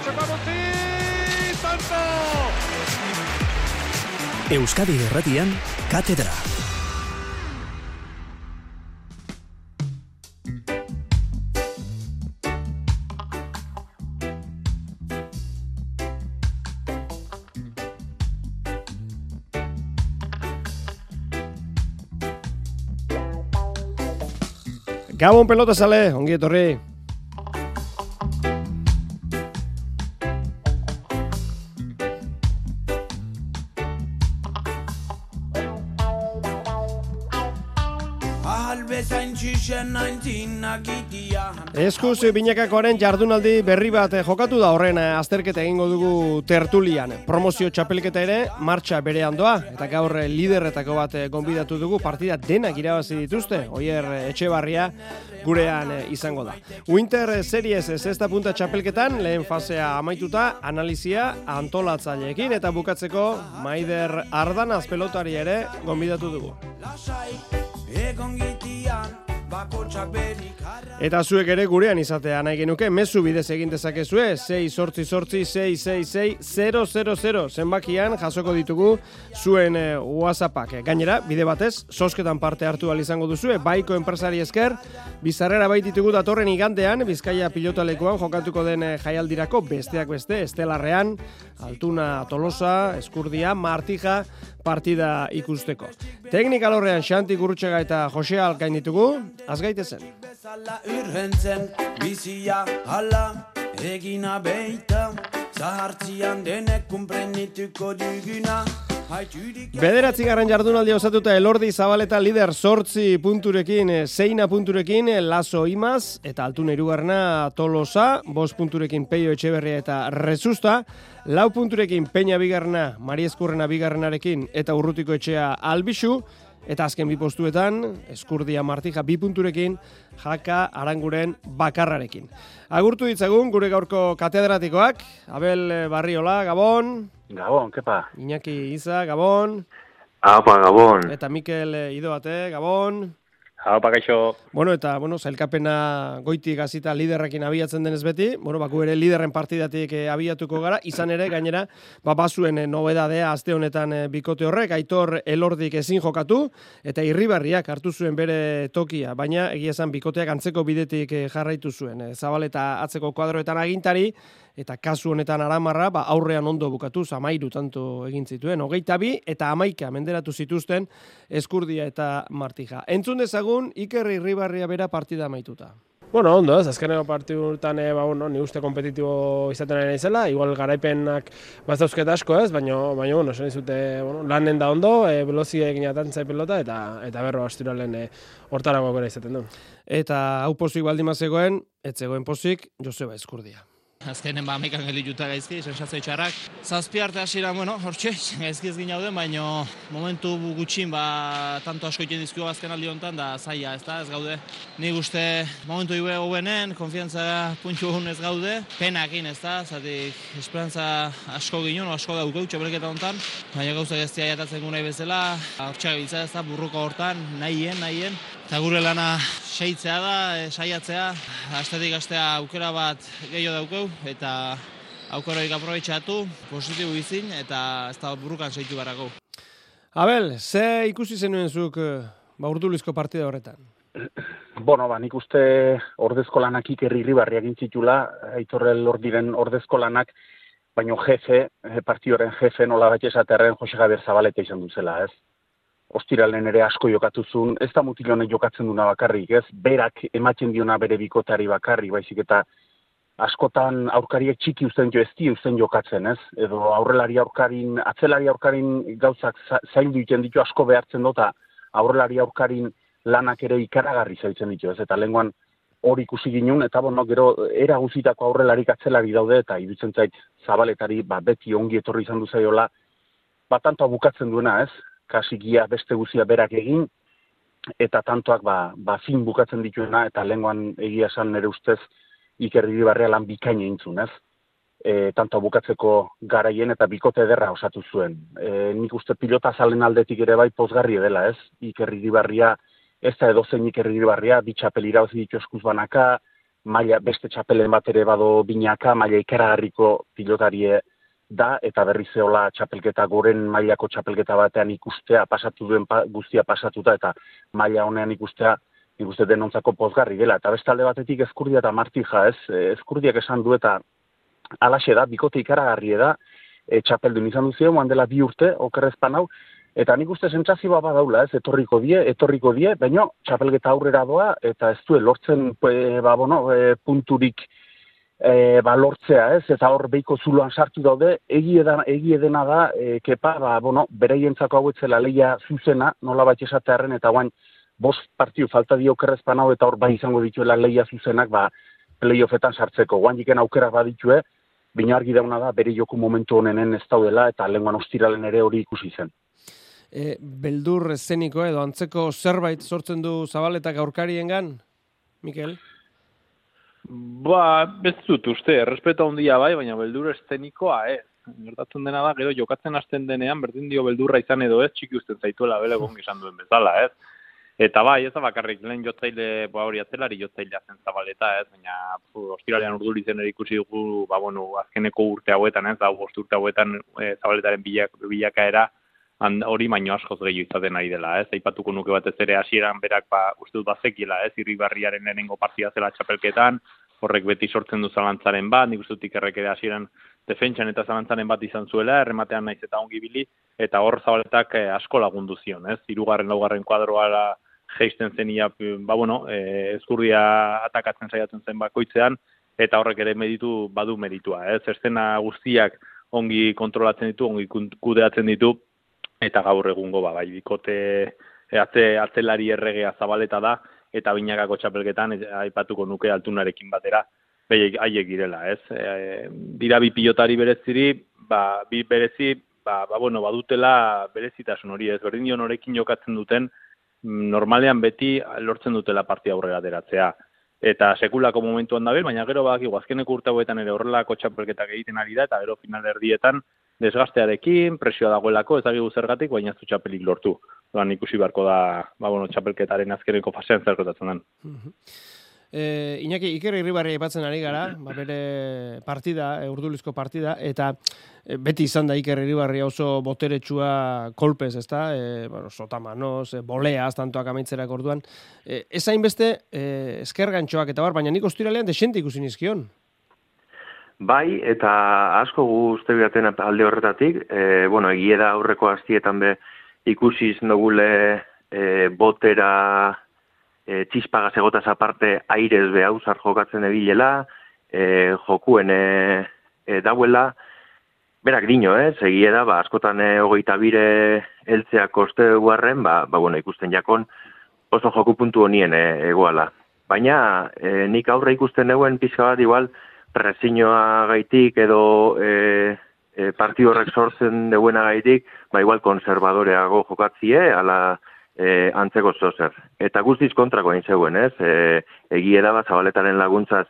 Santo! Euskadi Irratian, Katedra. Gabon pelota sale, ongi etorri. Eskuz binakakoaren jardunaldi berri bat jokatu da, horren azterketa egingo dugu tertulian. Promozio txapelketa ere martxa berean doa, eta gaur liderretako bat gonbidatu dugu, partida denak irabazi dituzte, Oier Etxebarria gurean izango da. Winter Series sexta punta txapelketan, lehen fasea amaituta, analizia antolatzaileekin, eta bukatzeko Maider Ardanaz pelotari ere gonbidatu dugu. Eta zuek ere gurean izatea nahi genuke, mezu bidez egin dezakezue, 688-666-000 zenbakian jasoko ditugu zuen WhatsAppak. Gainera, bide batez, zozketan parte hartu izango duzue, baiko enpresari esker, bizarrera baititugu datorren igandean, Bizkaia pilotalekuan jokatuko den jaialdirako besteak beste, Estelarrean, Altuna Tolosa, Eskurdia, Martija, partida ikusteko. Teknika lorrean Xanti Gurrutxaga eta Jose Alkain ditugu, azgaitezen. Bizia hala egina beita, zahartzian denek kunprenituko duguna. Bederatzigarren jardunaldia osatuta Elordi Zabaleta lider 8 punturekin, 6 punturekin Lazo Imaz eta Altuna hirugarrena Tolosa, 5 punturekin Peio Etxeberria eta Rezusta, 4 punturekin Peña bigarrena, Mari Eskurrena bigarrenarekin eta Urrutiko Etxea Albixu, eta azken bi postuetan, Eskurdia Martija 2 punturekin, Jaka Aranguren bakarrarekin. Agurtu ditzagun gure gaurko katedratikoak, Abel Barriola, Gabon. Gabon, kepa. Iñaki Iza, Gabon. Apa, Gabon. Eta Mikel Idoate, Gabon. Apa, gaixo. Eta, sailkapena goitik hasita liderrekin abiatzen denez beti, baku ere liderren partidatik abiatuko gara, izan ere, gainera, bazuen nobedadea aste honetan bikote horrek, Aitor Elordik ezin jokatu, eta Irribarriak hartu zuen bere tokia, baina egia esan bikoteak antzeko bidetik jarraitu zuen. Zabaleta atzeko kuadroetan agintari, eta kasu honetan Aramarra, aurrean ondo bukatu, 13 tanto egin zituen, 22 eta 11 menderatu zituzten Eskurdia eta Martija. Entzun dezagun, Iker Irribarria bera partida amaituta. Ondo, azkeneko partiduetan ni uste kompetitibo izaten ari naizela, igual garaipenak bazauzket asko ez, baina esan dizute lanen da ondo, veloziek inatantzai pelota eta berro astiralen hortarako gara izaten du. Eta hau pozik baldin zegoen, ez zegoen pozik Joseba Eskurdia. Azkenen amaikan gelituta gaizki, sensazio txarrak. Zazpi arte hasiera, hortxe, gaizki ez ginauden, baina momentu gutxin, tanto asko iten dizkio azken aldi honetan, da zaila, ez gaude. Nik uste momentu ibe hobenen, konfiantza puntu hon ez gaude, penakin, zatik esperantza asko ginen, asko daukau txapelketa honetan, baina gauza gaztia jatatzen gu nahi bezala, hortxak biltza burruko hortan, nahien, eta gure lana seitzea da, saiatzea, astetik astea aukera bat gehiago daukau, eta aukerarik aprobetxatu, positibo izin, eta ez da burrukan seitu barako. Abel, ze ikusi zenuen zuk Urdulizko partida horretan? Nik uste ordezko lanak Iker Irribarria gintzitula, Aitor Elordiren ordezko lanak, baina partioren jefe nola bat esaterren Jose Javier Zabaleta izan duzela, ez? Ostiralen ere asko jokatuzun, ez da mutilonek jokatzen duna bakarrik, ez? Berak ematen diona bere bikotari bakarrik, baizik eta askotan aurkariek txiki uzten jokatzen, ez? Edo atzelari aurkarin gauzak zaindu iten ditu asko behartzen dota, aurrelari aurkarin lanak ere ikaragarri zaitzen ditu, ez? Eta lehenguan hori ikusi ginen, eta gero era guzitako aurrelarik atzelari daude, eta iruditzen zait Zabaletari beti ongi etorri izan duzaiola, tantoa bukatzen duena, ez? Kasikia beste guzia berak egin, eta tantoak fin bukatzen dituena, eta lehenguan egia esan nire ustez Iker Irribarria lan bikaina intzun, ez? Tantoa bukatzeko garaien eta bikote ederra osatu zuen. Nik uste pilota zalen aldetik ere bai pozgarri dela, ez? Iker Irribarria, ez da edozein Iker Irribarria, bi txapel irabazi ditu eskuz banaka, maila beste txapelen bat ere bado binaka, maila ikaragarriko pilotarie da, eta berriz eola txapelketa goren mailako txapelketa batean ikustea, pasatu duen guztia pasatuta, eta maila honean ikustea, nik uste denontzako pozgarri dela. Eta beste alde batetik Ezkurdia eta Martija, Ezkurdiak esan du eta alaxe da, bikote ikaragarri da, txapeldun izan duzio, dela 2 urte, okerrezpan hau, eta nik uste sentsazioa badaula, etorriko die, baina txapelketa aurrera doa, eta ez du lortzen punturik lortzea, eta hor behiko zuloan sartu daude, egie dena da, kepa, bereientzako hau etzela leia zuzena, nola bat esatearen, eta guain, 5 partiu falta dio okerrezpan hau, eta hor bai izango dituela leia zuzenak, playoffetan sartzeko, guain diken aukera baditue, baina argi dauna da, bere joku momentu honenen ez daudela, eta lehenguan ostiralen ere hori ikusi zen. Beldur eszeniko edo antzeko zerbait sortzen du Zabaletak aurkariengan, Mikel? Ez dut uste, errespeto handia bai, baina beldur eszenikoa ez. Gertatzen dena da, gero jokatzen hasten denean, berdin dio beldurra izan edo ez, txiki usten zaituela bele gongi izan duen bezala, ez. Eta bai, ez da bakarrik, lehen jotzaile, hori atzelari jotzailea zen Zabaleta, ez, baina ostiralean Urduritzen ere ikusi dugu, azkeneko urte hauetan, ez, 5 urte hauetan Zabaletaren bilakaera hori baino askoz gehiago izaten ari dela, ez, aipatuko nuke batez ere hasieran berak, uste dut bazekiela, ez, Irribarriaren lehenengo partida zela txapelketan, horrek beti sortzen du zalantzaren bat, nik uste dut Ikerrek ere hasieran defentsan eta zalantzaren bat izan zuela, errematean naiz eta ongi ibili, eta hor Zabaletak asko lagundu zion, ez, 3., 4. kuadroa geisten zenia, Ezkurdia atakatzen saiatzen zen bakoitzean, eta horrek ere badu meritua, ez, eszena guztiak ongi kontrolatzen ditu, ongi kudeatzen ditu, eta gaur egungo bai bikote atzelari erregea Zabaleta da, eta binakako txapelketan aipatuko nuke Altunarekin batera, haiek girela, ez. Dira bi pilotari bereziri, bi berezi, badutela berezitasun hori, ez, berdin dio norekin jokatzen duten, normalean beti lortzen dutela partia aurrera ateratzea. Eta sekulako momentuan dabil, baina gero badakigu azkeneko urte hauetan ere horrelako txapelketak egiten ari da, eta gero final erdietan desgastearekin, presioa dagoelako, ez dakigu zergatik, baina ez du txapelik lortu. Ikusi beharko da, txapelketaren azkeneko fasean zer gertatzen den. Iñaki, Iker Irribarri aipatzen ari gara, bere partida, urdulizko partida, eta beti izan da Iker Irribarri oso boteretsua kolpez, ezta? Sotamanoz, boleaz, tantoak amaitzerak orduan. Ez hainbeste, eskergantxoak eta baina nik ostiralean desente ikusi nizkion. Bai, eta asko guzti biaten alde horretatik, egie da aurreko hastietan be ikusi izan dugule botera txispagaz egotaz aparte airez behauzar jokatzen ebilela, jokuen dauela, berak dino, egie da, askotan 22 heltzea koste guarren, ikusten jakon oso joku puntu honien egoala. Baina nik aurre ikusten neuen pixka bat igual presinoa gaitik edo partidu horrek sortzen deuena gaitik, igual konservadoreago jokatzie, ala antzeko zozer. Eta guztiz kontrako egin zeuen, ez? Egie da Zabaletaren laguntzaz,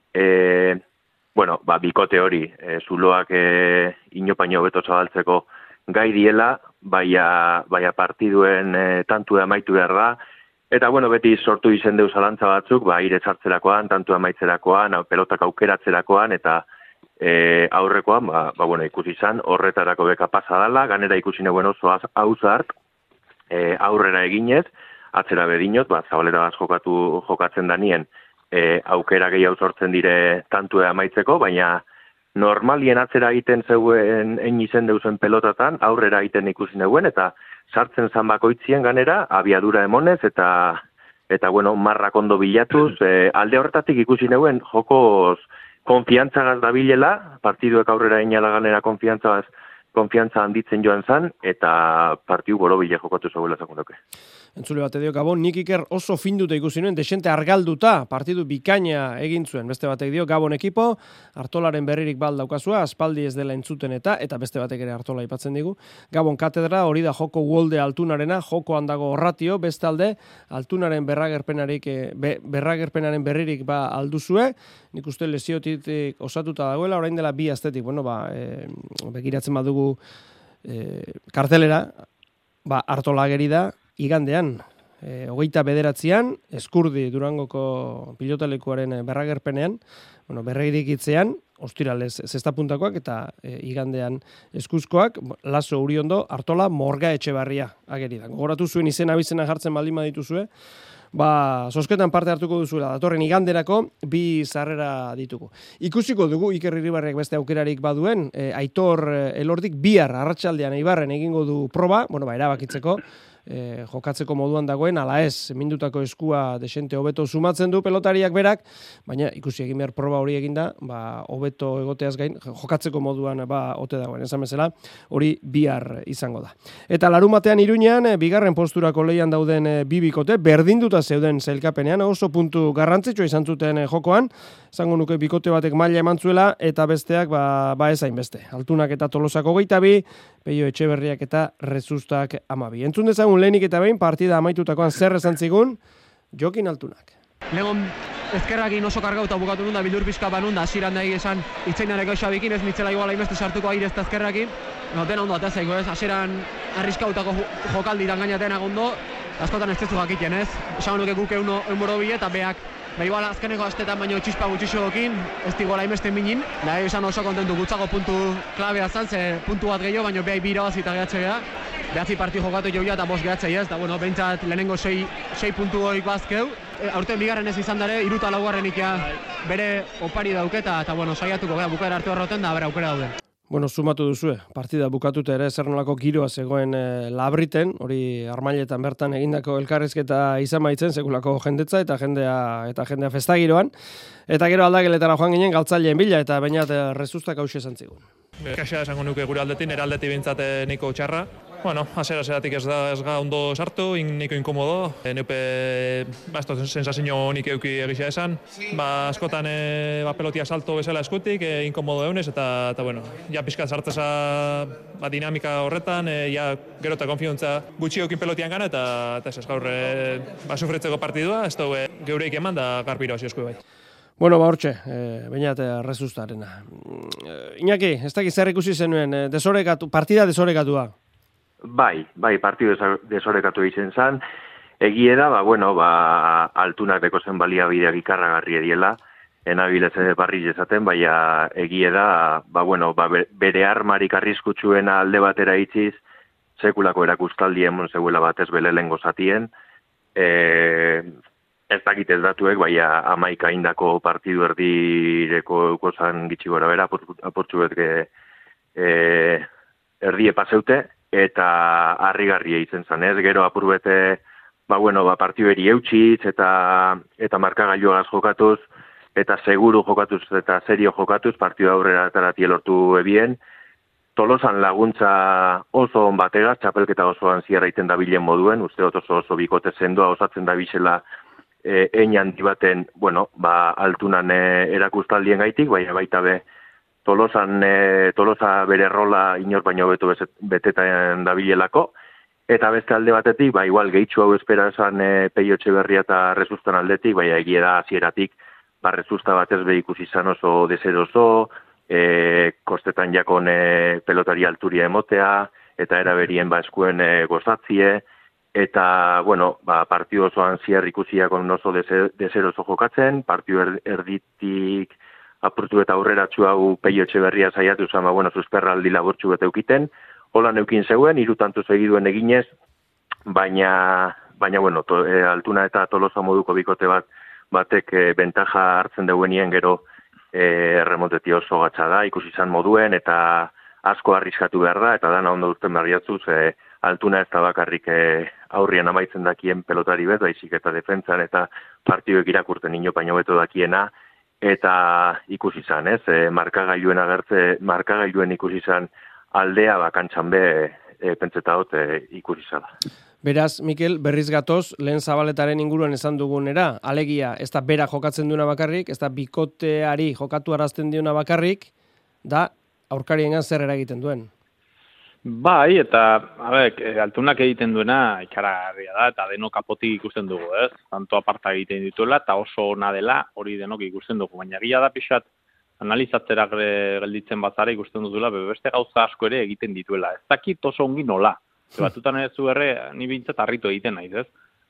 bikote hori, zuloak inopaino beto zabaltzeko gai diela, baina partiduen tantu amaitu behar da, eta beti sortu izen deuz alantza batzuk, aire sartzerakoan, tantu amaitzerakoan, pelotak aukeratzerakoan, eta aurrekoan, ikusi izan, horretarako beka pasa dala, ganera ikusi neguen oso hauzart, aurrera eginez, atzera bedinot, Zabaleta jokatzen danien, aukera gehiago sortzen dire tantue amaitzeko, baina normalien atzera egiten zeuen izen deuzen pelotatan, aurrera egiten ikusi neguen, eta sartzen zan bakoitzien ganera, abiadura emonez, eta marrak ondo bilatuz, alde horretatik ikusi neguen, jokoz konfiantzagaz dabilela, partiduek aurrera inala ganera konfiantza handitzen joan zan, eta partiu borobile jokatu zegoela zakundoke. Entzule bate dio, Gabon, nik Iker oso finduta ikusi nuen, desente argalduta, partidu bikaina egin zuen. Beste batek dio, Gabon ekipo, Artolaren berririk daukazua, aspaldi ez dela entzuten eta beste batek ere Artola aipatzen digu. Gabon katedra, hori da joko Wolde Altunarena, joko handago horratio, bestalde, Altunaren berragerpenaren berririk alduzue, nik uste lesiotik osatuta dagoela, orain dela 2 astetik, begiratzen badugu kartelera, Artola ageri da, igandean, 29an, Eskurdi Durangoko pilotalekuaren berragerpenean, berregirikitzean, ostiralez zestapuntakoak eta igandean eskuzkoak, Laso Uriondo, Artola, Morga Etxebarria ageri da. Gogoratu zuen izena bizena jartzen baldin badituzue, zozketan parte hartuko duzuela, datorren iganderako 2 sarrera ditugu. Ikusiko dugu Iker Irribarrek beste aukerarik baduen, Aitor Elordik bihar arratsaldean Eibarren egingo du proba, erabakitzeko, jokatzeko moduan dagoen, ala ez, mindutako eskua desente hobeto sumatzen du pelotariak berak, baina ikusi egin behar proba hori eginda, hobeto egoteaz gain, jokatzeko moduan ote dagoen, esan bezala, hori bihar izango da. Eta larumatean Iruñean, bigarren posturako lehian dauden bikote, berdinduta zeuden zailkapenean, oso puntu garrantzitsua izan zuten jokoan, izango nuke bikote batek maila eman zuela, eta besteak ezain beste. Altunak eta Tolosako 22, Peio Etxeberriak eta Rezustak 12. Entzun dezagun lehenik eta behin, partida amaitutakoan zer esan zigun, Jokin Altunak. Legon ezkerrakin oso kargauta bukatu nun da, bildur pixka banun da, asiran nahi esan itzainarek gaixabikin, ez nitzela igual hainbeste sartuko aire ez da ezkerrakin. Dena ondo atazaiko ez, asiran arriskautako jokaldi dangainatean agondo, askotan ez tezu jakiten ez. Esan nuke guk eunboro bile eta beak, igual azkeneko astetan baino txispa gutxixoekin, ez digola hainbeste minin. Da esan oso kontentu gutxako puntu klabea zan, ze puntu bat gehiago, baino behai bira bazita gehatze geha. Behatzi parti jokatu joia eta 5 gehatzei ez, da behintzat lehenengo 6 puntu hoik bazkeu. Aurten bigarren ez izan dare, 3 eta 4 ikia bere opari dauketa, eta saiatuko geha bukaera hartu horroten da, bera aukera daude. Sumatu duzue, partida bukatuta ere zer nolako giroa zegoen Labriten, hori Armailetan bertan egindako elkarrizketa izan baitzen, sekulako jendetza eta jendea festagiroan. Eta gero aldageletara joan ginen galtzaileen bila eta bainat Rezustak hauxe esan zigun. Kaxa esango nuke gure aldetin, eraldetik bintzat niko txarra. Hasieratik ez ga ondo sartu, niko inkomodo. Neupe, sensazio nik euki egisa esan. Askotan pelotia salto bezala eskutik, inkomodo eunez, eta ja pixkat sartzeza dinamika horretan, gero eta konfiantza gutxi eukin pelotian gana, eta ez gaur sufritzeko partidua, ez dugu geureik eman da garpiro hasi esku bai. Hortxe, bainat Rezustarena. Iñaki, ez dakit zer ikusi zenuen, partida desorekatua? Bai, partidu desorekatu egiten zen. Egie da, Altunak deko zen baliabideak ikarragarri ediela, enabileze barri esaten, baina egie da, bere armarik arriskutsuen alde batera itziz, sekulako erakustaldi emon zeuela batez belelengo zatien, ez dakit ez datuek, baina 11 indako partidu erdireko eukozan gitxi gora bera, aportxu betke erdie paseute, eta harrigarria izen zen, ez? Gero apurbete, partidu eri eutxitz, eta markagailuagaz jokatuz, eta seguru jokatuz, eta serio jokatuz, partidu aurrera tarati lortu ebien. Tolosan laguntza oso on bategaz, txapelketa osoan ziarraiten da bilen moduen, uste oso bikote sendoa osatzen da bisela einan dibaten, Altunan erakustaldien gaitik, baina baita be, Tolosa bere rola inor baino beto betetan dabilelako, eta beste alde batetik, igual gehitxu hau espera esan Peio Etxeberria eta Rezustan aldetik, egia da hasieratik, Rezusta batez be ikusi izan oso deseroso, kostetan jakon pelotari alturia emotea, eta eraberien eskuen gozatzie, eta, partidu osoan ziar ikusiakon oso deseroso jokatzen, partidu erditik apurtu eta aurreratxu hau Peio Etxeberria saiatu zen, susperraldi labortxu bete eukiten, hola neukin zeuen, 3 tantu segiduen eginez, baina Altuna eta Tolosa moduko bikote batek bentaja hartzen deuenien gero erremonteti oso gatsa da, ikusi izan moduen, eta asko arriskatu behar da, eta dana ondo duzten berriatzuz, Altuna ez da bakarrik aurrian amaitzen dakien pelotari bet, baizik eta defentsan eta partiduek irakurten inopaino beto dakiena, eta ikusi izan, ez? Markagailuen ikusi izan aldea bakantxan be, pentseta hot ikusi izan. Beraz, Mikel, berriz gatoz, lehen Zabaletaren inguruan esan dugunera, alegia, ez da bera jokatzen duena bakarrik, ez da bikoteari jokatu arazten duena bakarrik, da aurkariengan zer eragiten duen. Bai, eta Altunak egiten duena ikaragarria da, eta denok apotik ikusten dugu, ez? Tanto aparta egiten dituela, eta oso ona dela hori denok ikusten dugu. Baina gila da pixat analizatzerak gelditzen bazara ikusten dutela, beste gauza asko ere egiten dituela. Ez dakit oso ongi nola. Batutan ez zu ni bintzat harritu egiten naiz, ez?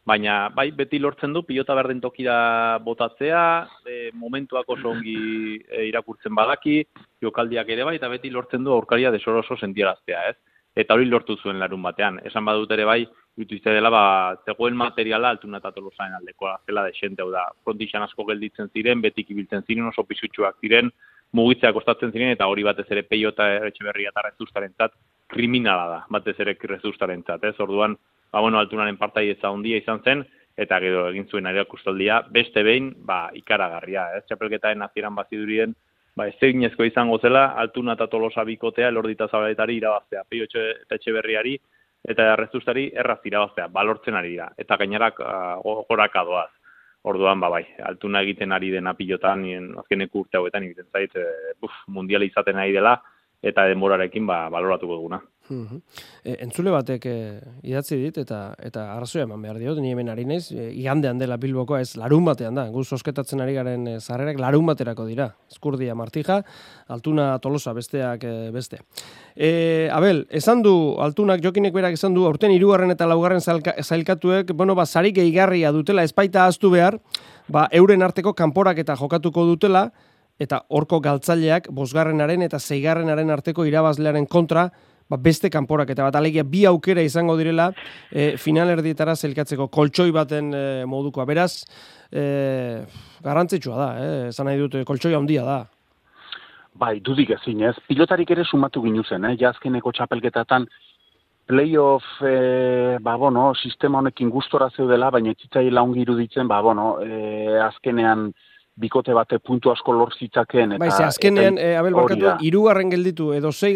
baina bai beti lortzen du pilota berdin tokira botatzea, momentuak oso ongi irakurtzen badaki, jokaldiak ere bai, eta beti lortzen du aurkaria desoroso sentiaraztea, ez? Eta hori lortu zuen larun batean. Esan badut ere bai, izte dela, zegoen materiala Altuna eta Tolosaren aldekoa, zela desente, hau da, frontixan asko gelditzen ziren, betik ibiltzen ziren, oso pisutsuak ziren, mugitzea kostatzen ziren, eta hori batez ere Peiota Etxeberria eta Rezustarentzat kriminala da, batez ere Rezustarentzat, ez? Orduan, Altunaren partaietza handia izan zen, eta gero egin zuen erakustaldia, beste behin, ikaragarria, ez? Txapelketaren hasieran bazidurien, ez eginezko izango zela, Altuna eta Tolosa bikotea, Elordi eta Zabaletari irabaztea, Peiota eta Etxeberriari, eta Rezustari erraz irabaztea, balortzen ari dira, eta gainerak goraka doaz. Orduan, Altuna egiten ari dena pilotan, azkeneko urte hauetan egiten zait, mundiala izaten ari dela, eta denborarekin baloratuko duguna. Entzule batek idatzi dit, eta arrazoia eman behar diot, ni hemen ari naiz, igandean dela Bilbokoa, ez larun batean da, guz osketatzen ari garen sarrerak larun baterako dira. Ezkurdia Martija, Altuna Tolosa besteak beste. Abel, esan du, Altunak Jokinek berak esan du, aurten 3. eta 4. zailkatuek, sari gehigarria dutela, espaita ahaztu behar, euren arteko kanporak eta jokatuko dutela, eta horko galtzaileak 5. eta 6. arteko irabazlearen kontra, beste kanporak eta alegia 2 aukera izango direla finalerdietara zelkatzeko koltsoi baten modukoa. Beraz, garrantzitsua da, esan nahi dut, koltsoi handia da. Bai, dudik ezin ez. Pilotarik ere sumatu ginuzen, jazkeneko txapelketatan playoff, sistema honekin gustora zeudela, baina etzitzaiela ongi iruditzen, azkenean bikote bate puntu asko lor zitzaken. Azkenean, Abel barkatu, 3. gelditu, edo 6.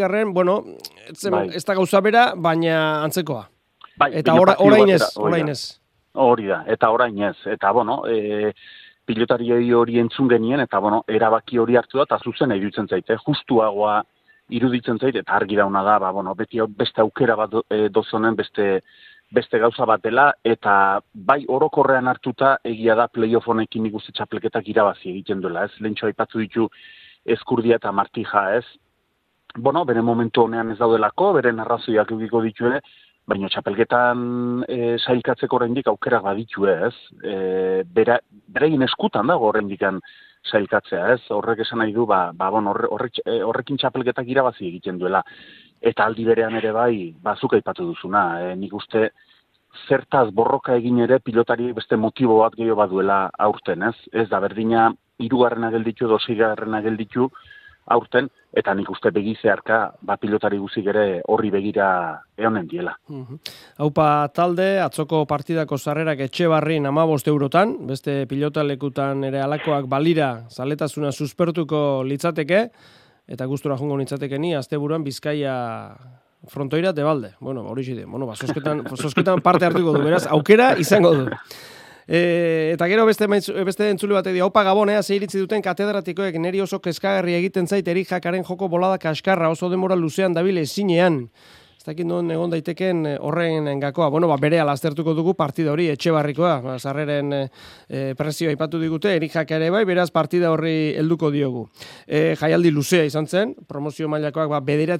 Ez da gauza bera, baina antzekoa. Eta orain ez. Hori da, eta orain ez. Eta, pilotari hori entzun genien, eta, erabaki hori hartu da, eta zuzen iruditzen zaite, justuagoa iruditzen zaite, eta argi dauna da, beti beste aukera bat dozonen, beste gauza bat dela, eta bai orokorrean hartuta egia da playoff honekin ikusi txapelketak irabazi egiten duela, ez? Lehentxo aipatu ditu Ezkurdia eta Martija, ez? Bere momentu honean ez daudelako, beren arrazoiak egiko ditu ere, baina txapelketan sailkatzeko oraindik aukerak baditu, ez? Berein eskutan dago oraindik sailkatzea, ez? Horrek esan nahi du, horrekin txapelketak irabazi egiten duela. Eta aldi berean ere bai, zuk aipatu duzuna. Nik uste zertaz borroka egin ere pilotari beste motibo bat gehiago baduela aurten, ez? Ez da berdina 3. gelditu edo 6. gelditu aurten, eta nik uste begizearka pilotari guzik ere horri begira eonen diela. Haupa talde, atzoko partidako sarrerak Etxebarrin 15 eurotan, beste pilotalekutan ere alakoak balira zaletasuna suspertuko litzateke, eta gustura jongo nintzateke ni, asteburuan Bizkaia frontoira Tebalde. Hori zide, sosketan parte hartuko du, beraz, aukera izango du. Eta gero beste entzule batek dio, haupa Gabonea, zeiritzi duten katedratikoek neri oso kezkagarri egiten zait Erijakaren joko bolada kaskarra, oso denbora luzean dabile ezinean. Ez dakit non egon daiteken horren gakoa. Berehala aztertuko dugu partida hori Etxebarrikoa, sarreren presioa aipatu digute, Erijak ere bai, beraz partida horri helduko diogu. Jaialdi luzea izan zen, promozio mailakoak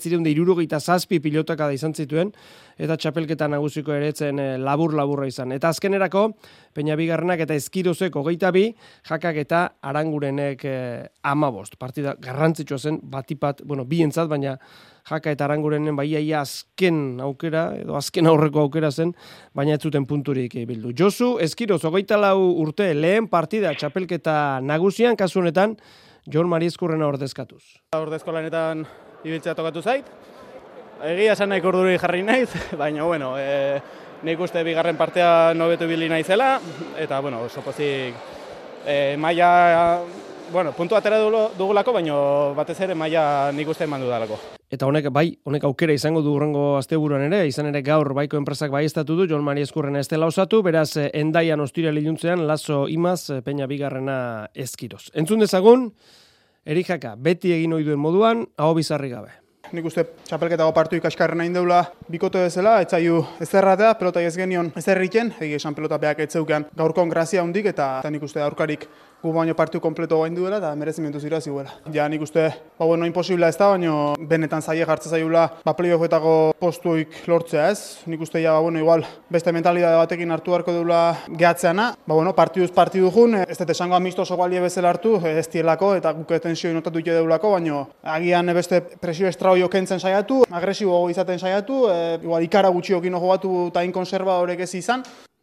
967 pilotaka da izan zituen, eta txapelketa nagusiko eretzen labur-laburra izan. Eta azkenerako, Peña Bigarrenak eta Ezkirozek 22, Jakak eta Arangurenek 15. Partida garrantzitsua zen, batipat, bientzat, baina Jaka eta Arangurenen baiaia azken aukera, edo azken aurreko aukera zen, baina ez zuten punturik bildu. Josu, Ezkiroz, 24 urte, lehen partida txapelketa nagusian, kasu honetan, Jon Mari Ezkurrena ordezkatuz. Ordezkolanetan ibiltzea tokatu zait. Egia esan nahiko urduri jarri naiz, baina, nik uste bigarren partea nobetu ibili naizela, eta, oso pozik maila, puntu atera dugulako, baina batez ere maila nik uste eman dudalako. Eta honek aukera izango du hurrengo asteburuan ere, izan ere gaur baiko enpresak baieztatu du, Jon Mari Ezkurrena ez dela osatu, beraz Endaian ostirale iluntzean, Laso Imaz, Peña Bigarrena Ezkiroz. Entzun dezagun, Erijaka beti egin ohi duen moduan, aho bizarri gabe. Nik uste txapelketago partu ikaskarren hain deula bikote bezala, etzaiu ezerratea, pelota ez genion ezerriken, esan pelota behak etzeukean gaurkon grazia hundik, eta nik uste aurkarik gu baino partidu kompleto gain duela eta merezimentu zira ziguela. Ja nik uste, imposibla ez da, baina benetan zaie jartzen zaiula playoffetako postuik lortzea ez. Nik uste igual beste mentalidade batekin hartu beharko deula gehatzeana. Partiduz partidu jun, ez dut esango amistoso balie bezala hartu, ez dielako eta guk tensioi notatu ite deulako, baina agian beste presio estraoio kentzen saiatu, agresibo izaten saiatu, igual ikara gutxiokin jogatu eta inkonservadorek ez izan.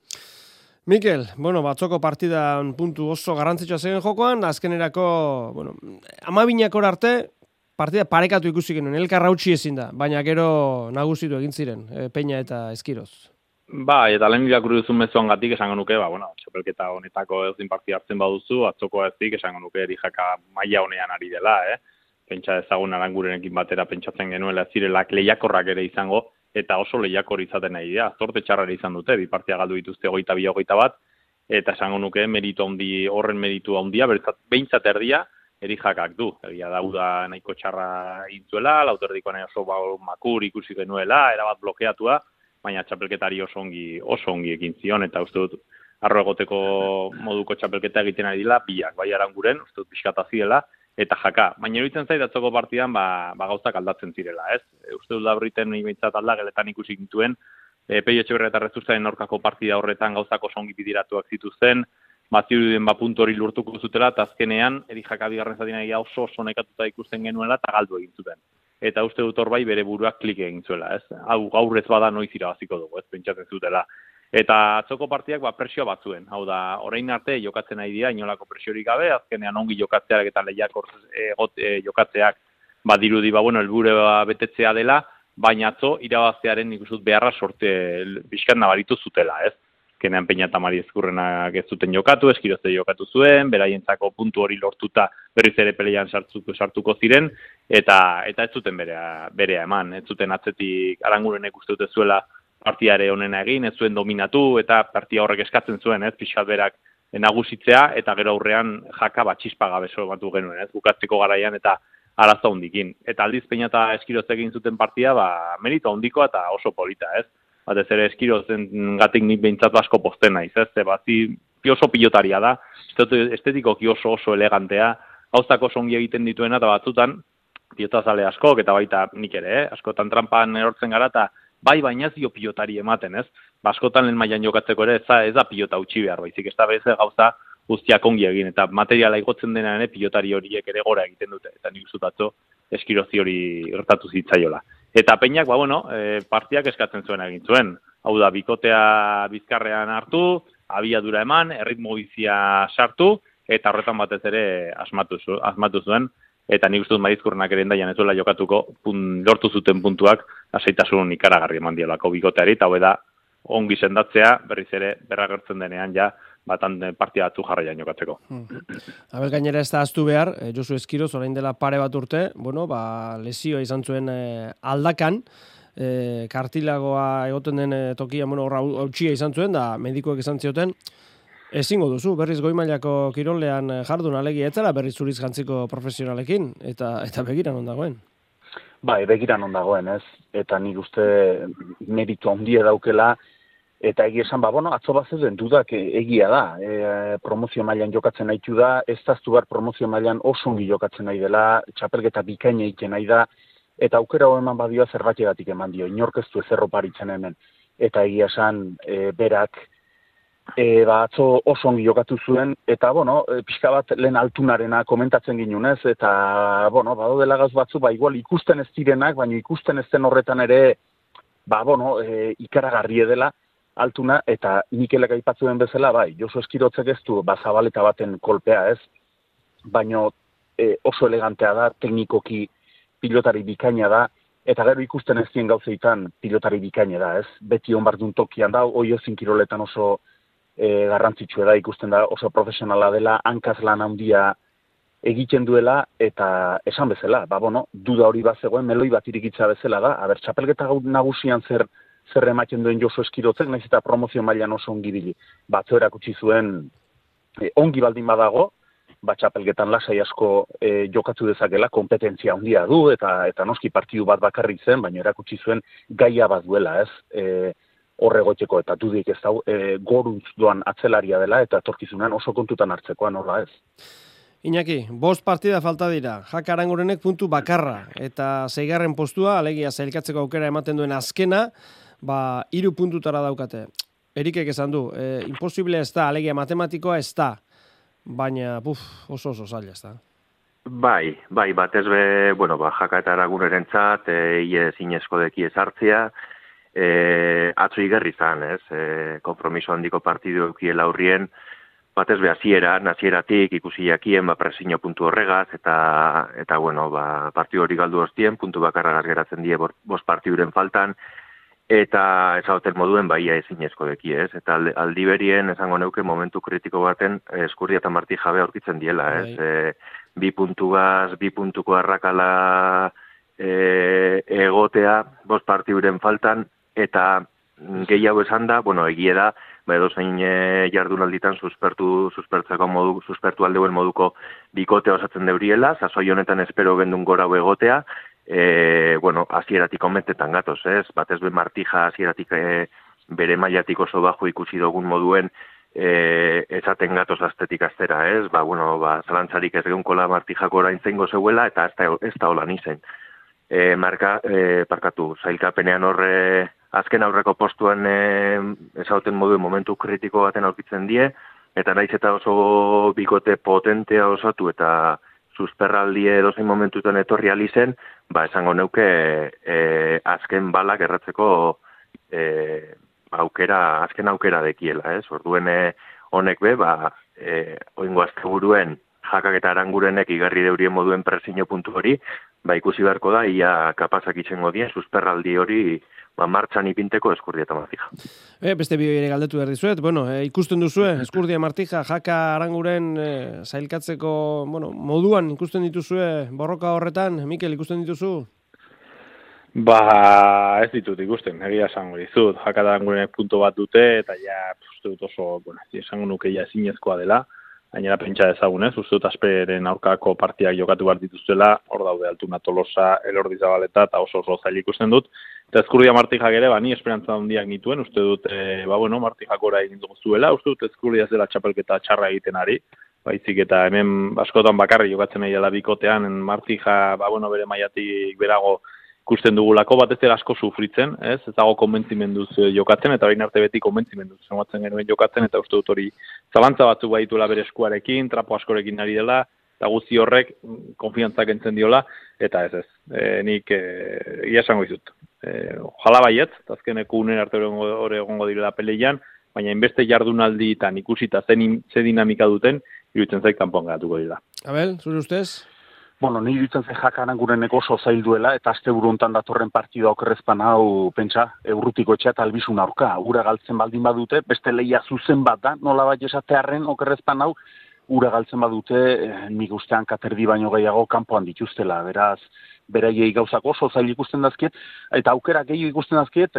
Mikel, batzoko partidan puntu oso garrantzitsua zen jokoan, azkenerako, 12 arte, partida parekatu ikusi genuen, elkarra utzi ezin da, baina gero nagusitu egin ziren, Peña eta Eskiroz. Eta lehen irakurri duzun mezuangatik esango nuke, txapelketa honetako ezin partida hartzen baduzu, atzoko ezik esango nuke Erijaka maila honean ari dela, Pentsa ezagun Arangurenekin batera pentsatzen genuela zirelak lehiakorrak ere izango, eta oso lehiakor izaten nahi dira. Zorte txarra izan dute, bi partia galdu dituzte 22-21, eta esango nuke horren meritu handia, behintzat erdia Erijakak du. Egia da nahiko txarra intzuela, lauterdiko nahi oso makur ikusi genuela, erabat blokeatua, baina txapelketari oso ongi ekin zion, eta uste dut arro egoteko moduko txapelketa egiten ari dila, biak, bai Aranguren, uste dut pixkata ziela, eta Jaka. Baina iruditzen zait atzoko partidan gauzak aldatzen zirela, ez? Uste dut Labriten behintzat aldageletan ikusi gintuen, Peio Etxeberria eta Rezustaren aurkako partida horretan gauzak oso ongi bidiratuak zituzten, zirudien puntu hori lortuko zutela, eta azkenean Erijaka bigarren zatin egia oso nekatuta ikusten genuela eta galdu egin zuten. Eta uste dut hor bai bere buruak klik egin zuela, ez? Hau gaur ez bada noiz irabaziko dugu, ez? Pentsatzen zutela. Eta atzoko partiak presioa batzuen. Hau da, orain arte jokatzen nahi dira, inolako presiorik gabe, azkenean ongi jokatzeak eta lehiakor jokatzeak dirudi, helbure betetzea dela, baina atzo irabaztearen ikusut beharra sorte bizkat nabaritu zutela, ez? Azkenean Peña eta Mari Ezkurrenak ez zuten jokatu, Eskirozte jokatu zuen, beraientzako puntu hori lortuta berriz ere peleian sartuko ziren, eta ez zuten berea eman, ez zuten atzetik Arangurenek uste dute zuela partiare honena egin, ez zuen dominatu, eta partia horrek eskatzen zuen, ez, pixkat berak nagusitzea, eta gero aurrean Jaka txispa gabe sobatu genuen, ez, bukatzeko garaian, eta arazo handikin. Eta aldiz Peña eta Eskiroz egin zuten partia, merito handikoa eta oso polita, ez. Batez ere Eskirozen gatik nik behintzatu asko posten naiz, ez, oso pilotaria da, estetikoki oso elegantea, gauzak oso ongi egiten dituena, eta batzutan, pilotazale askok, eta baita nik ere, askotan trampan erortzen gara, eta baina ez dio pilotari ematen, ez? Askotan lehen mailan jokatzeko ere ez da pilota utzi behar, baizik ez da bez gauza guztiak ongi egin, eta materiala igotzen dena ere pilotari horiek ere gora egiten dute, eta nik usutatzo Eskirozi hori gertatu zitzaiola. Eta Peñak, partiak eskatzen zuen egin zuen. Hau da, bikotea bizkarrean hartu, abiadura eman, erritmo bizia sartu, eta horretan batez ere asmatu zuen. Eta nik uste dut Marizkurrenak ere endaian ez duela jokatuko lortu zuten puntuak aseitasun ikaragarri eman diolako bikoteari, eta da ongi sendatzea berriz ere berragertzen denean batan partia batzu jarraian jokatzeko. Abel gainera ez da aztu behar, Josu Eskiroz orain dela pare bat urte, lesioa izan zuen aldakan, kartilagoa egoten den tokia, hautsia izan zuen, da medikoek izan zioten, ezingo duzu, berriz goi-mailako kirolean jardun alegia etzela, berriz zuriz jantziko profesionalekin, eta begiran ondagoen. Begiran ondagoen, ez? Eta nik uste meritu handia daukela, eta egia esan, atzo bat zeuden dudak egia da. Promozio mailan jokatzen nahitu da, ez daztu behar promozio mailan oso ongi jokatzen nahi dela, txapelketa bikaina egiten nahi da, eta aukera hau eman badioa zerbategatik eman dio, inorkeztu ez erroparitzen hemen. Eta egia esan, berak, atzo oso ongi jokatu zuen, eta, pixka bat lehen altunarena komentatzen ginunez, eta, bado dela gauz batzu, igual ikusten ez direnak, baina ikusten ez den horretan ere, ikaragarri dela altuna, eta Mikelek aipatzen bezala, Josu Eskirotzek ez du, Zabaleta baten kolpea ez, baina oso elegantea da, teknikoki pilotari bikaina da, eta gero ikusten ez dien gauzeitan pilotari bikaina da, ez? Beti onbardun tokian da, oiozin kiroletan oso garrantzitsua da, ikusten da oso profesionala dela, hankaz lan handia egiten duela, eta esan bezala, duda hori bat zegoen, meloi bat irikitza bezala da, txapelketa nagusian zer ematen duen Josu Eskirotzek, nahiz eta promozio mailan oso ongi bili. Batzo erakutsi zuen ongi baldin badago, txapelketan lasai asko jokatu dezakela, kompetentzia handia du, eta noski partidu bat bakarrik zen, baina erakutsi zuen gaia bat duela, ez? horregoteko eta dudik ez dau, goruntz doan atzelaria dela eta etorkizunan oso kontutan hartzekoa nola ez. Iñaki, 5 partida falta dira, Jaka Arangurenek puntu bakarra, eta 6. postua, alegia zailkatzeko aukera ematen duen azkena, 3 puntutara daukate. Erikek esan du, imposible ez da, alegia matematikoa ez da, baina oso zaila ez da. Bai, batez be, Jaka eta Aragunerentzat, ie zinezko deki ezartzea, atzo igerri zan, ez? Konpromiso handiko partidu eukiela aurrien, batez be hasieratik ikusi jakien, presio puntu horregaz, eta partidu hori galdu ostien, puntu bakarra geratzen die 5 partiduren faltan, eta ezagoten moduen baia ezinezko deki, ez? Eta aldi berien, esango neuke, momentu kritiko baten, Eskurdia eta Marti jabe aurkitzen diela, ez? 2 puntuko arrakala egotea, 5 partiduren faltan, eta gehiago esan da, egie da, edozein jardunalditan suspertu aldeuen moduko bikotea osatzen deuriela, sasoi honetan espero gendun gora egotea, hasieratik omentetan gatoz, ez? Batez be Martija hasieratik bere mailatik oso bajo ikusi dugun moduen esaten gatoz astetik astera, ez? Zalantzarik ez geunkola Martijako orain zeingo zeuela, eta ez da holan izen. Zailkapenean horre azken aurreko postuan ezauten moduen momentu kritiko baten aurkitzen die, eta naiz eta oso bikote potentea osatu eta susperraldie edozein momentutan etorri alizen, esango neuke azken balak erratzeko azken aukera dekiela, ez? Orduen honek be, oingo azte buruen Jakak eta Arangurenek igarri deurien moduen presio puntu hori, ikusi beharko da, ia kapazak itxengo dien, susperraldi hori martxan ipinteko Eskurdia eta Martija. Beste bi ere galdetu behar dizuet, ikusten duzue, Eskurdia Martija, Jaka Aranguren zailkatzeko, moduan ikusten dituzue borroka horretan, Mikel, ikusten dituzu? Ez ditut ikusten, egia esango dizut, Jaka Arangurenek puntu bat dute, eta uste dut oso, esango nuke ezinezkoa dela, gainera pentsa ezagunez, uste dut Asperen aurkako partiak jokatu behar dituztela, hor daude Altuna Tolosa, Elordi Zabaleta, eta oso zail ikusten dut. Eta Eskurdia Martijak ere, ni esperantza handiak nituen, uste dut, Martijak ora egin zuela, uste dut Eskurdia zela txapelketa txarra egiten ari, baizik eta hemen askotan bakarri jokatzen nahi dela bikotean, Martija, bere mailatik berago ikusten dugulako, batez ere asko sufritzen, ez dago konbentzimenduz jokatzen, eta bain arte beti konbentzimenduz zenbatzen genuen jokatzen, eta uste dut hori zalantza batzuk baituela bere eskuarekin, trapo askorekin ari dela, eta guzti horrek konfiantzak entzen diola, eta ez, nik ia esango dizut. Jala baiet, azkeneko unen arte hori egongo direla peleian, baina inbeste jardunalditan ikusita ze dinamika duten, iruditzen zaik kanpoan geratuko dira. Abel, zure ustez? Ni dutzen ze Jaka Arangurenek oso zail duela, eta aste buru hontan datorren partida okerrezpan hau, pentsa, Urrutiko etxea eta Albizun aurka. Ura galtzen baldin badute, beste lehia zuzen bat da, nola bat esatearren okerrezpan hau, ura galtzen badute, nik ustean katerdi baino gehiago kanpoan dituztela, beraz, beraiei gauzak oso zail ikusten dazkiet, eta aukera gehiago ikusten dazkiet,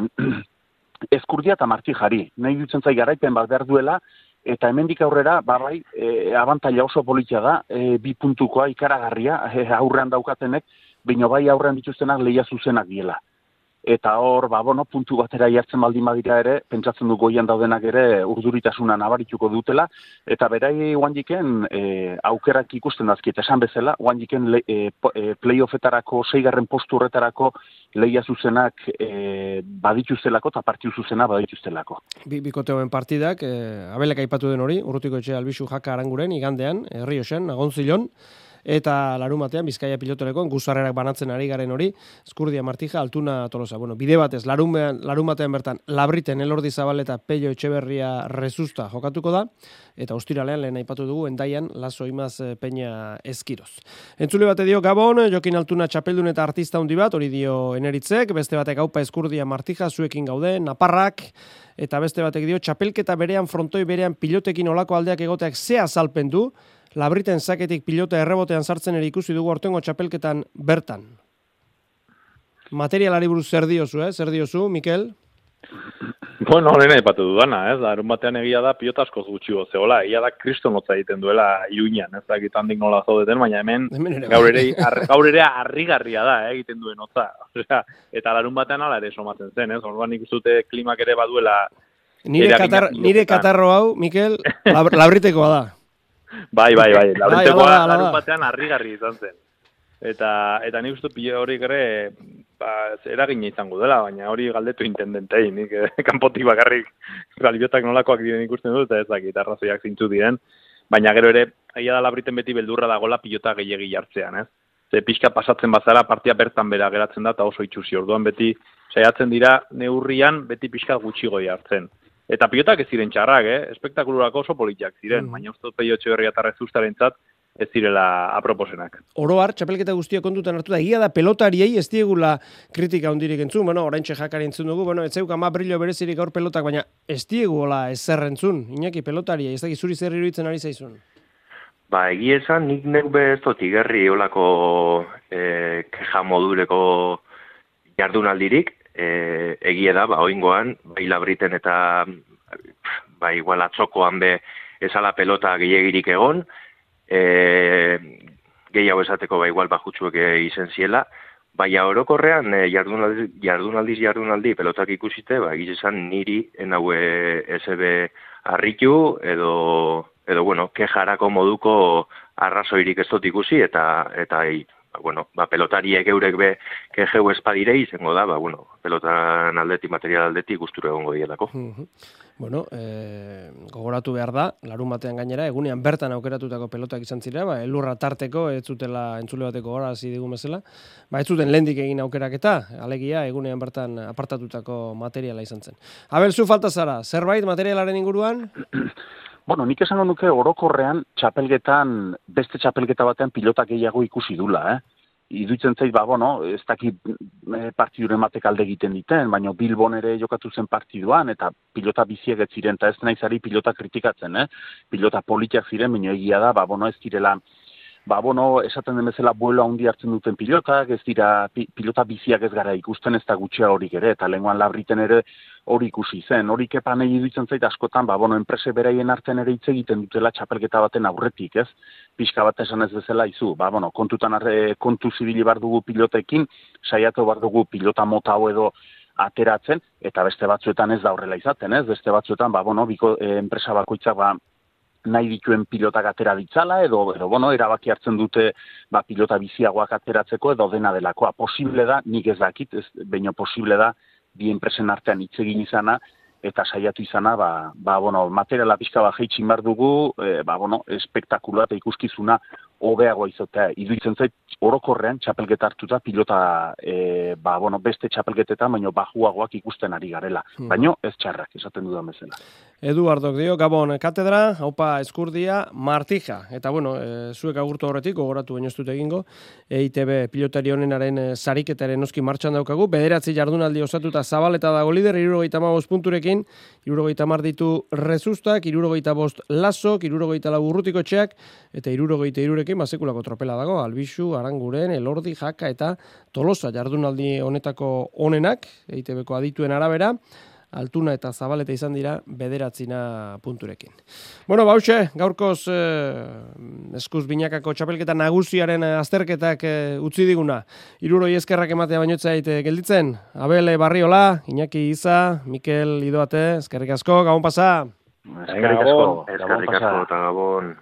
Eskurdia eta Martijari. Nahi dutzen zai garaipen bat behar duela, eta hemendik aurrera, abantaila oso politia da, 2 puntukoa ikaragarria, aurrean daukatenek, baina aurrean dituztenak lehia zuzenak diela. Eta hor, puntu batera jartzen baldin badira ere, pentsatzen du goian daudenak ere urduritasuna nabarituko dutela, eta berai oandiken aukerak ikusten dazkiet, esan bezala, oandiken playoffetarako, 6. postu horretarako lehia zuzenak badituztelako eta partiu zuzena badituztelako. Bikoteoen partidak, Abelek aipatu den hori, Urrutiko etxe Albizu Jaka Aranguren, igandean, Herrioxen, Agontzilon, eta larumatean Bizkaia pilotolekoan guzarrerak banatzen ari garen hori, Eskurdia Martija, Altuna Tolosa. Bide batez, larumatean bertan, Labriten, Elordi Zabaleta, Pello Etxeberria Rezusta jokatuko da, eta ostiralean lehen aipatu dugu, Endaian, Laso Imaz Peña Eskiroz. Entzule bate dio Gabon, Jokin Altuna txapeldun eta artista handi bat, hori dio Eneritzek, beste batek Aupa Eskurdia Martija, zuekin gaude, Naparrak, eta beste batek dio txapelketa berean, frontoi berean, pilotekin olako aldeak egoteak ze azalpen du, Labriten zaketik pilota errebotean sartzen ere ikusi dugu aurtengo txapelketan bertan. Materialari buruz zer diozu, Mikel? Bueno, horrena ipatu dudana, ez? Larun batean egia da pilota askoz gutxi zehola, egia da kriston hotza egiten duela Iruñan, ez dakit handik nola zaudeten, baina hemen gaur ere harrigarria da, egiten duen hotza. Osea, eta larun batean hala ere somatzen zen, ez? Orduan ikustute klimak ere baduela. Nire katarro hau, Mikel, labritekoa da. Bai, labritekoa larun batean harrigarri izan zen. Eta nik uste pilo horiek ere eragina izango dela, baina hori galdetu intendentei, nik kanpotik bakarrik galbiotak nolakoak diren ikusten dut, eta ez dakit arrazoiak zintzu diren, baina gero ere, aia da labriten beti beldurra dagola pilota gehiegi jartzean, ez? Ze pixka pasatzen bazara partia bertan bera geratzen da, eta oso itxusi, orduan beti saiatzen dira neurrian beti pixka gutxigo jartzen. Eta pilotak ez ziren txarrak, espektakulurako oso politiak ziren, baina uste dut Peio Etxeberria eta Rezuztarentzat ez direla aproposenak. Oroar, txapelketa guztia kontutan hartu da, egia da pelotariei ez diegula kritika handirik entzun, oraintxe Jakari entzun dugu, ez zeuka ma brillo berezirik gaur pelotak, baina ez diegula ezer entzun, Iñaki pelotariei, ez dakit zuri zer iruditzen ari zaizun? Egia esan, nik neube ez dut igerri olako keja modureko jardunaldirik, egia da, oingoan, bai labriten eta igual atzokoan be ezala pelota gehiagirik egon, gehiago esateko igual bajutsuek izen ziela, baina orokorrean jardunaldi pelotak ikusite, esan niri enaue SB harritu edo kejarako moduko arrazoirik ez dut ikusi eta pelotariek eurek be kejeu espadire izango da, pelotan aldetik, material aldetik gustura egongo dielako. Gogoratu behar da, larun batean gainera, egunean bertan aukeratutako pelotak izan zira, elurra tarteko, ez zutela entzule bateko gora hasi digun bezala, ez zuten lehendik egin aukeraketa, alegia egunean bertan apartatutako materiala izan zen. Abel, zu falta zara, zerbait materialaren inguruan? Nik esango nuke orokorrean txapelgetan, beste txapelgeta batean pilota gehiago ikusi dula, Iduitzen zait, ez dakit partiduren batek alde egiten diten, baina Bilbon ere jokatu zen partiduan, eta pilota biziek ez ziren, eta ez naizari pilota kritikatzen, Pilota politiak ziren, baina egia da, ez direla, esaten den bezala buelo handi hartzen duten pilotak, ez dira pilota biziak ez gara ikusten, ez da gutxea horik ere, eta lenguan labriten ere hori ikusi zen. Hori kepan egin duitzen zait askotan, enprese beraien artean ere hitz egiten dutela txapelketa baten aurretik, ez? Pixka bat esan ez bezala izu, kontutan kontu zibili bar dugu pilotekin, saiatu bar dugu pilota mota hau edo ateratzen, eta beste batzuetan ez da horrela izaten, ez? Beste batzuetan, enpresa bakoitzak nahi dituen pilotak atera ditzala, edo erabaki hartzen dute pilota biziagoak ateratzeko, edo dena delakoa. Posible da, nik ez dakit, baina posible da, bi enpresen artean hitz egin izana, eta saiatu izana, materiala pixka bat jeitxin behar dugu, espektakuloa eta ikuskizuna hobeago izatea. Iduitzen zait, orokorrean txapelgeta hartuta pilota, beste txapelgetetan, baina bajuagoak ikusten ari garela. Baina ez txarrak, esaten dudan bezala. Eduardok dio, Gabon katedra, haupa eskurdia, Martija. Eta zuek agurtu horretik, gogoratu baino ez dut egingo, EITB pilotari honenaren sariketaren noski martxan daukagu, 9 jardunaldi osatuta Zabaleta dago lider, 75 punturekin, 70 ditu Rezustak, 75 Lasok, 74 Urrutikotxeak, eta 73rekin sekulako tropela dago, Albixu, Aranguren, Elordi, Jaka eta Tolosa jardunaldi honetako onenak, EITB-ko adituen arabera, Altuna eta Zabaleta izan dira 9 punturekin. Bauxe, gaurkoz eskuz binakako txapelketa nagusiaren azterketak utzi diguna. 60 eskerrak ematea bainotzait gelditzen. Abel Barriola, Iñaki Iza, Mikel Idoate, eskerrik asko, gabon pasa. Eskerrik asko, eta gabon.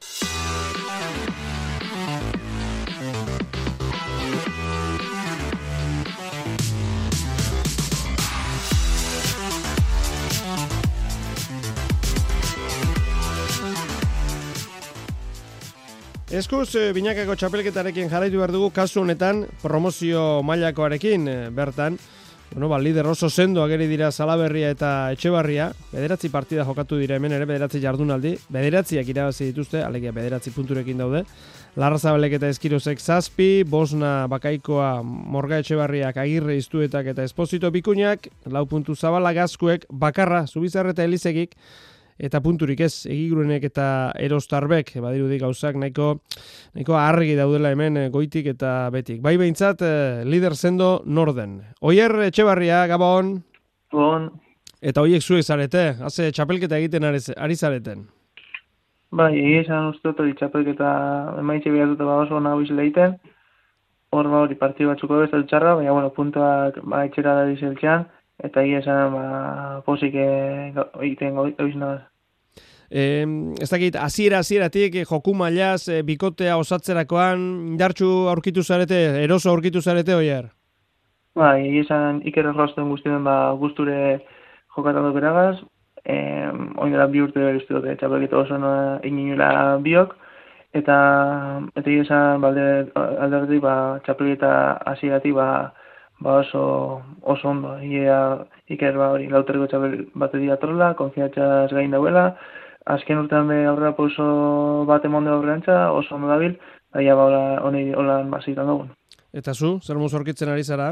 Eskuz, binakako txapelketarekin jarraitu behar dugu, kasu honetan promozio mailakoarekin bertan. Lider oso sendo ageri dira Salaberria eta Etxebarria. 9 partida jokatu dira hemen ere, 9 jardunaldi. 9 irabazi dituzte, alegia 9 punturekin daude. Larrazabalek eta Eskirozek 7, Bosna Bakaikoa, Morga Etxebarriak, Agirre Iztuetak eta Esposito Bikuñak, 4 puntu Zabala Gazkuek, Bakarra, Zubizarre eta Elizegik, eta punturik ez, Egigurenek eta Erostarbek, badirudi gauzak nahiko argi daudela hemen goitik eta betik. Bai behintzat, lider sendo norden. Oier Etxebarria, Gabon. Gabon. Eta horiek zuek zarete, haze txapelketa egiten ari zareten. Bai, esan uste dut hori txapelketa emaitxe behatuta oso nago izela egiten. Hor hori partidu batzuko bezala txarra, baina bueno, puntuak etxera da dizeltxean, eta esan posik egiten gauzina. Ez dakit, hasieratik joku mailaz, bikotea osatzerakoan indartsu aurkitu zarete, eroso aurkitu zarete, Oier? Bai, esan Iker Errausten guztien guzture jokatan dut beragaz, oindela 2 urte uste dute txapelketa oso ininula biok, eta esan alderdik txapelketa hasieratik oso ondo. Iker hori lauterreko txapel bateria trola, konfiantzaz gain dauela, azken urtean aurrera oso bat emonde aurrerantza, oso ondo dabil, daia honi holan bazitan dugun. Eta zu, zer moz aurkitzen ari zara?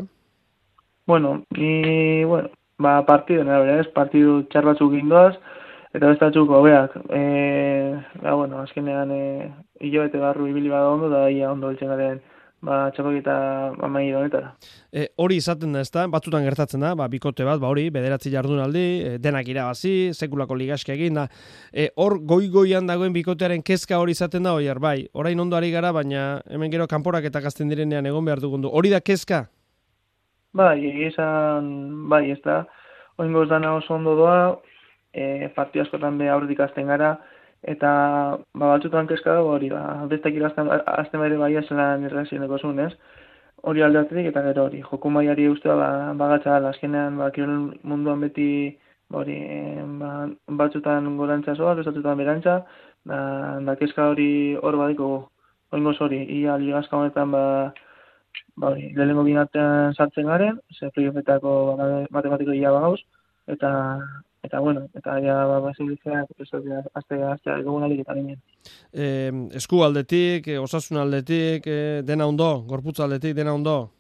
Partidu, partidu txar batzuk indoaz, eta bestatzuk hobeak. Azkenean hilabete barru ibili bada ondo, da daia ondo eltzen garen txapelketa amai honetara. Hori izaten da, ezta? Batzutan gertatzen da, bikote bat, hori, 9 jardunaldi, denak irabazi, sekulako ligaske egin da. Hor goian dagoen bikotearen kezka hori izaten da, Oier, bai, orain ondo ari gara, baina hemen gero kanporak eta gazten direnean egon behar dugun du. Hori da kezka? Bai, ez da. Oingoz dana oso ondo doa, partidu askotan aurretik azten gara, eta batzutan kezka dago hori, bestak azten bere bai azelan irrazioneko zuen, ez? Hori aldeatik eta gero hori, joku mailari ustea bagatza gala, azkenean kirol munduan beti batzutan gorantza zoa, batzutan berantza, da kezka hori hor badiko, oingoz hori, ia ligazka honetan lehenengo binatean sartzen garen, ze playoffetako matematiko ia bagauz, eta basilizea, aztea egun alik eta ginen. Esku aldetik, osasun aldetik, dena ondo, gorputz aldetik, dena ondo?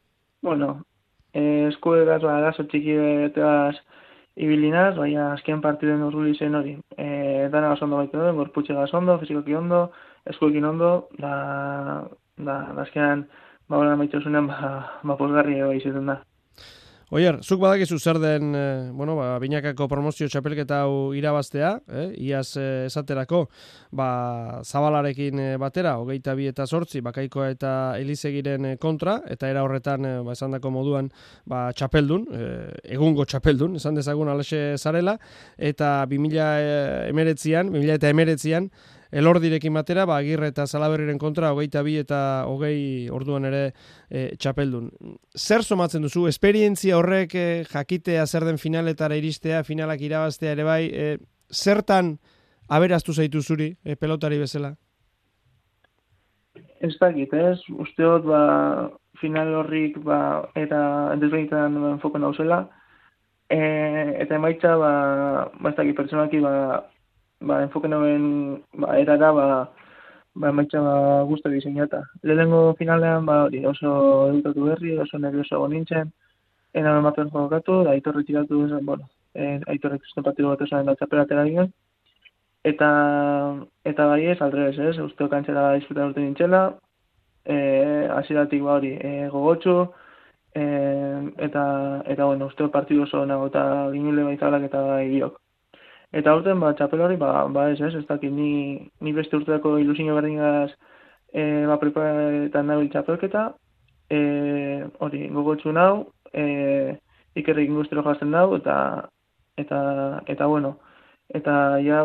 Esku eraz, arazo txiki beteaz ibilinaz, baina azken partiden urruli zen hori. Dana oso ondo baitu duen, gorputxegaz ondo, fizikoki ondo, eskuekin ondo, da azkenan hola maitxosunean pozgarri izaten da. Oier, zuk badakizu zer den, binakako promozio txapelketa hau irabaztea, iaz esaterako, Zabalarekin batera, 22 eta 8, Bakaikoa eta Elizegiren kontra, eta era horretan, esandako moduan, txapeldun, egungo txapeldun, esan dezagun alaxe zarela, eta 2019an, Elordirekin batera, Agirre eta Salaberriren kontra, 22 eta 20 orduan ere txapeldun. Zer somatzen duzu? Esperientzia horrek jakitea zer den finaletara iristea, finalak irabaztea ere bai, zertan aberaztu zaitu zuri pelotari bezala? Ez dakit, ez? Usteot, final horrik eta desbenitan enfoken dauzela, eta emaitza, ez dakit, pertsonaki, enfoken hauen erara, emaitza guztu diseinata. Lehenengo finalean, oso edutatu berri, oso nervioso egon nintzen, enan ematen jokatu, da Aitorri tiratu, Aitorrek zuten partidu bat esan da txapelatera ginen, eta bai ez, aldrebez ez, usteo kantzera disfrutan urte nintzela, hasieratik gogotxu, eta usteo partidu oso nago eta ginule baizalak eta bai biok. Eta urten, txapel hori, ez dakit, ni beste urteako ilusio berdingaz preparetan nabil txapelketa, hori, gogotxu nau, Ikerrik ingustero jazten dau, eta ja,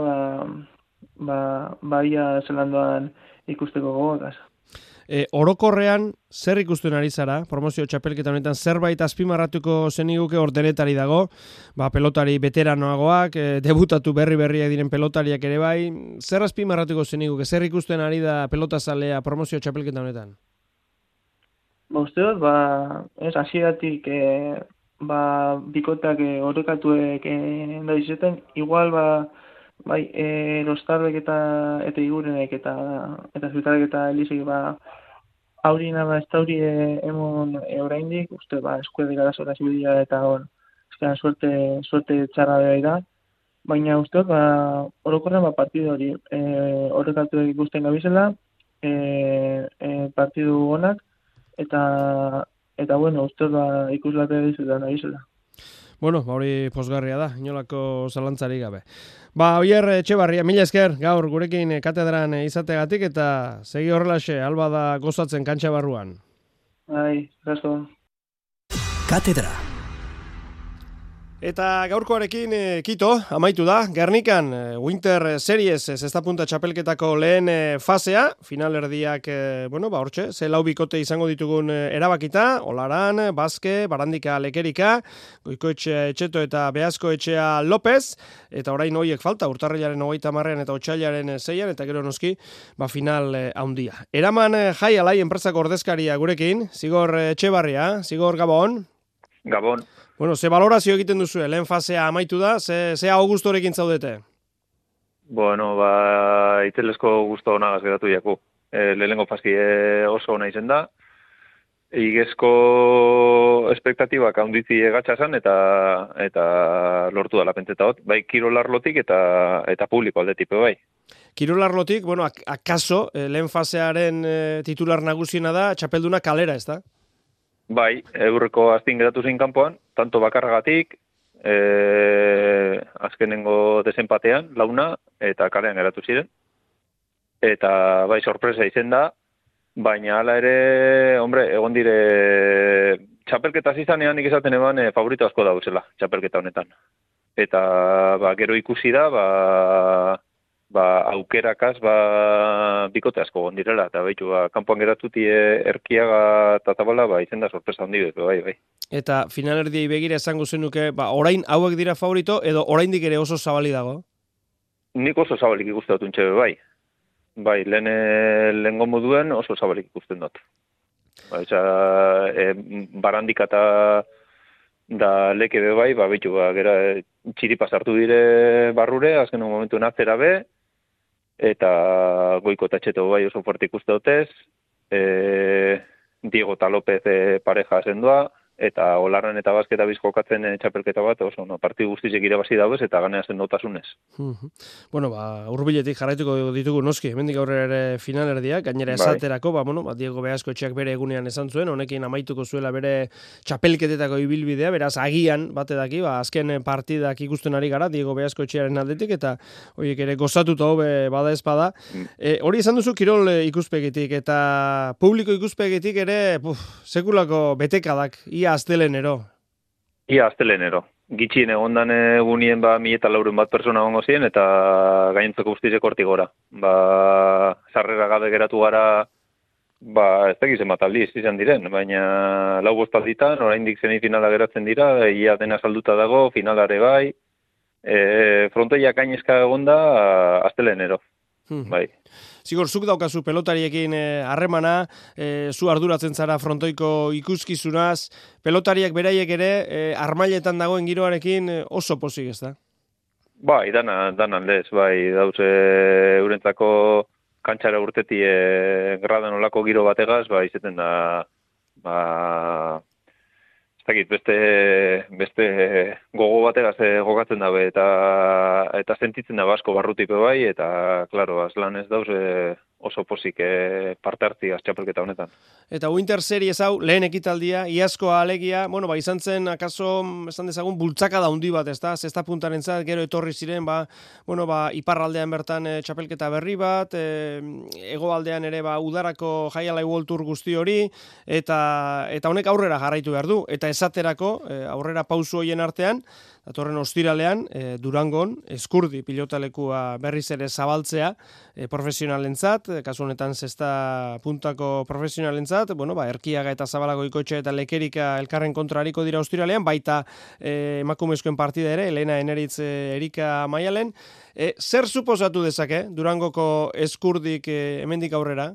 ia zelandoan ikusteko gogokaz. Orokorrean, zer ikusten ari zara, promozio txapelketa honetan, zerbait azpimarratuko zeniguke hor denetari dago, pelotari veteranoagoak, debutatu berriak diren pelotariak ere bai, zer azpimarratuko zeniguke, zer ikusten ari da pelotazalea promozio txapelketa honetan? Usteot, hasieratik bikotak horrekatuek da izeten, igual Rostarbek eta Igurenek eta Zutarek eta Elizek haurina ez da hori emon oraindik, uste eskuedik arazora zibidia eta eskeran suerte txarra behar da, baina uste orokorren partidu hori horrekatuek ikusten gabizela, partidu honak eta uste ikuslate dizutan gabizela. Bueno, hori pozgarria da, inolako zalantzari gabe. Oier Etxebarria, mila esker gaur gurekin katedran izategatik eta segi horrelaxe, alba da gozatzen kantxa barruan. Bai, gasko. Katedra. Eta gaurkoarekin kito, amaitu da, Gernikan Winter Series zestapunta txapelketako lehen fasea, finalerdiak, hortxe, ze lau bikote izango ditugun erabakita, Olaran, Baske, Barandika Lekerika, Goikoetxe Etxeto eta Beazko Etxea López, eta orain hoiek falta, urtarrilaren 30 eta otsailaren 6 eta gero noski, final handia. Eraman Jai Alai enpresako ordezkaria gurekin, Zigor Etxebarria, Zigor Gabon. Gabon. Bueno, ze valorazio egiten duzu, lehen fasea amaitu da, ze augustorekin zaudete? Bueno, itzelezko gusto honagaz geratu jaku. Lehenengo fasi oso ona izen da. Igezko espektatibak handitzi egatxasan eta lortu da lapentzeta hot. Bai, kirolarlotik eta publiko aldetipe bai. Kirolarlotik, akaso, lehen fasearen titular nagusiena da, txapelduna kalera, ez da? Bai, eurreko aztin geratu zein kanpoan, tanto bakarragatik, azkenengo desenpatean, launa, eta kalean geratu ziren. Eta bai, sorpresa izen da, baina hala ere, egon dire, txapelketa zizanean nik esaten eban favorito asko dauzela, txapelketa honetan. Eta gero ikusi da, aukerakaz bikote asko gondirela, eta baitu, kanpoan geratuti Erkiaga eta Zabala, izen da sorpresa handi dut, bai. Eta finalerdiei begira esango zenuke, orain hauek dira favorito, edo oraindik ere oso zabali dago? Nik oso zabalik ikusten dut untxe, bai. Bai, lehen moduen oso zabalik ikusten dut. Barandika eta da leke be bai, baitu, gera txiripa sartu dire barrure, azken momentu atzera be, eta Goiko eta Etxeto bai oso fuerte ikuste dutez, Diego eta López pareja zendua, eta Olaran eta Baske eta bizkokatzen txapelketa bat, oso partidu guztizek irabazi dauz eta ganea sendotasunez. Hurbiletik jarraituko ditugu noski, hemendik aurrera ere finalerdiak, gainera esaterako, Diego Beazko Etxeak bere egunean esan zuen, honekin amaituko zuela bere txapelketetako ibilbidea, beraz agian batedaki, azken partidak ikusten ari gara, Diego Beazko Etxearen aldetik, eta horiek ere gozatuta hobe bada ezpada. Hori esan duzu kirol ikuspegitik, eta publiko ikuspegitik ere, sekulako betekadak, ia astelenero. Gitxien egondan egunien 1.400 bat persona gongo ziren, eta gainentzeko guztizek hortik gora. Sarrera gabe geratu gara, ez tegizen bat aldiz izan diren, baina 4 bostalditan, oraindik semifinala geratzen dira, ia dena salduta dago, finalare bai, frontoiak gainezka egonda astelenero. Bai. Zigor, zuk daukazu pelotariekin harremana, zu arduratzen zara frontoiko ikuskizunaz, pelotariak beraiek ere armailetan dagoen giroarekin oso pozik, ez da? Bai, dan aldez, bai, dauze eurentzako kantxara urteti gradan olako giro bategaz, izeten da, beste gogo bategaz gogatzen dabe, eta sentitzen da asko barrutipe bai, eta, klaro, azlan ez dauz oso pozik parte hartzigaz txapelketa honetan. Eta Winter Series hau, lehen ekitaldia, iazkoa alegia, izan zen, akaso, esan dezagun, bultzaka da hundi bat, ez da? Zesta puntaren zat, gero etorri ziren, iparraldean bertan txapelketa berri bat, hegoaldean ere, udarako Jaialai World Tour guzti hori, eta honek aurrera jarraitu behar du, eta esaterako, aurrera pausu hoien artean, datorren ostiralean, Durangon, Eskurdi pilotalekua berriz ere zabaltzea profesionalentzat, kasu honetan zesta puntako profesionalentzat, Erkiaga eta Zabala Goikoetxe eta Lekerika elkarren kontra hariko dira ostiralean, baita emakumezkoen partida ere, Elena Eneritz Erika Maialen. Zer suposatu dezake Durangoko Eskurdik hemendik aurrera?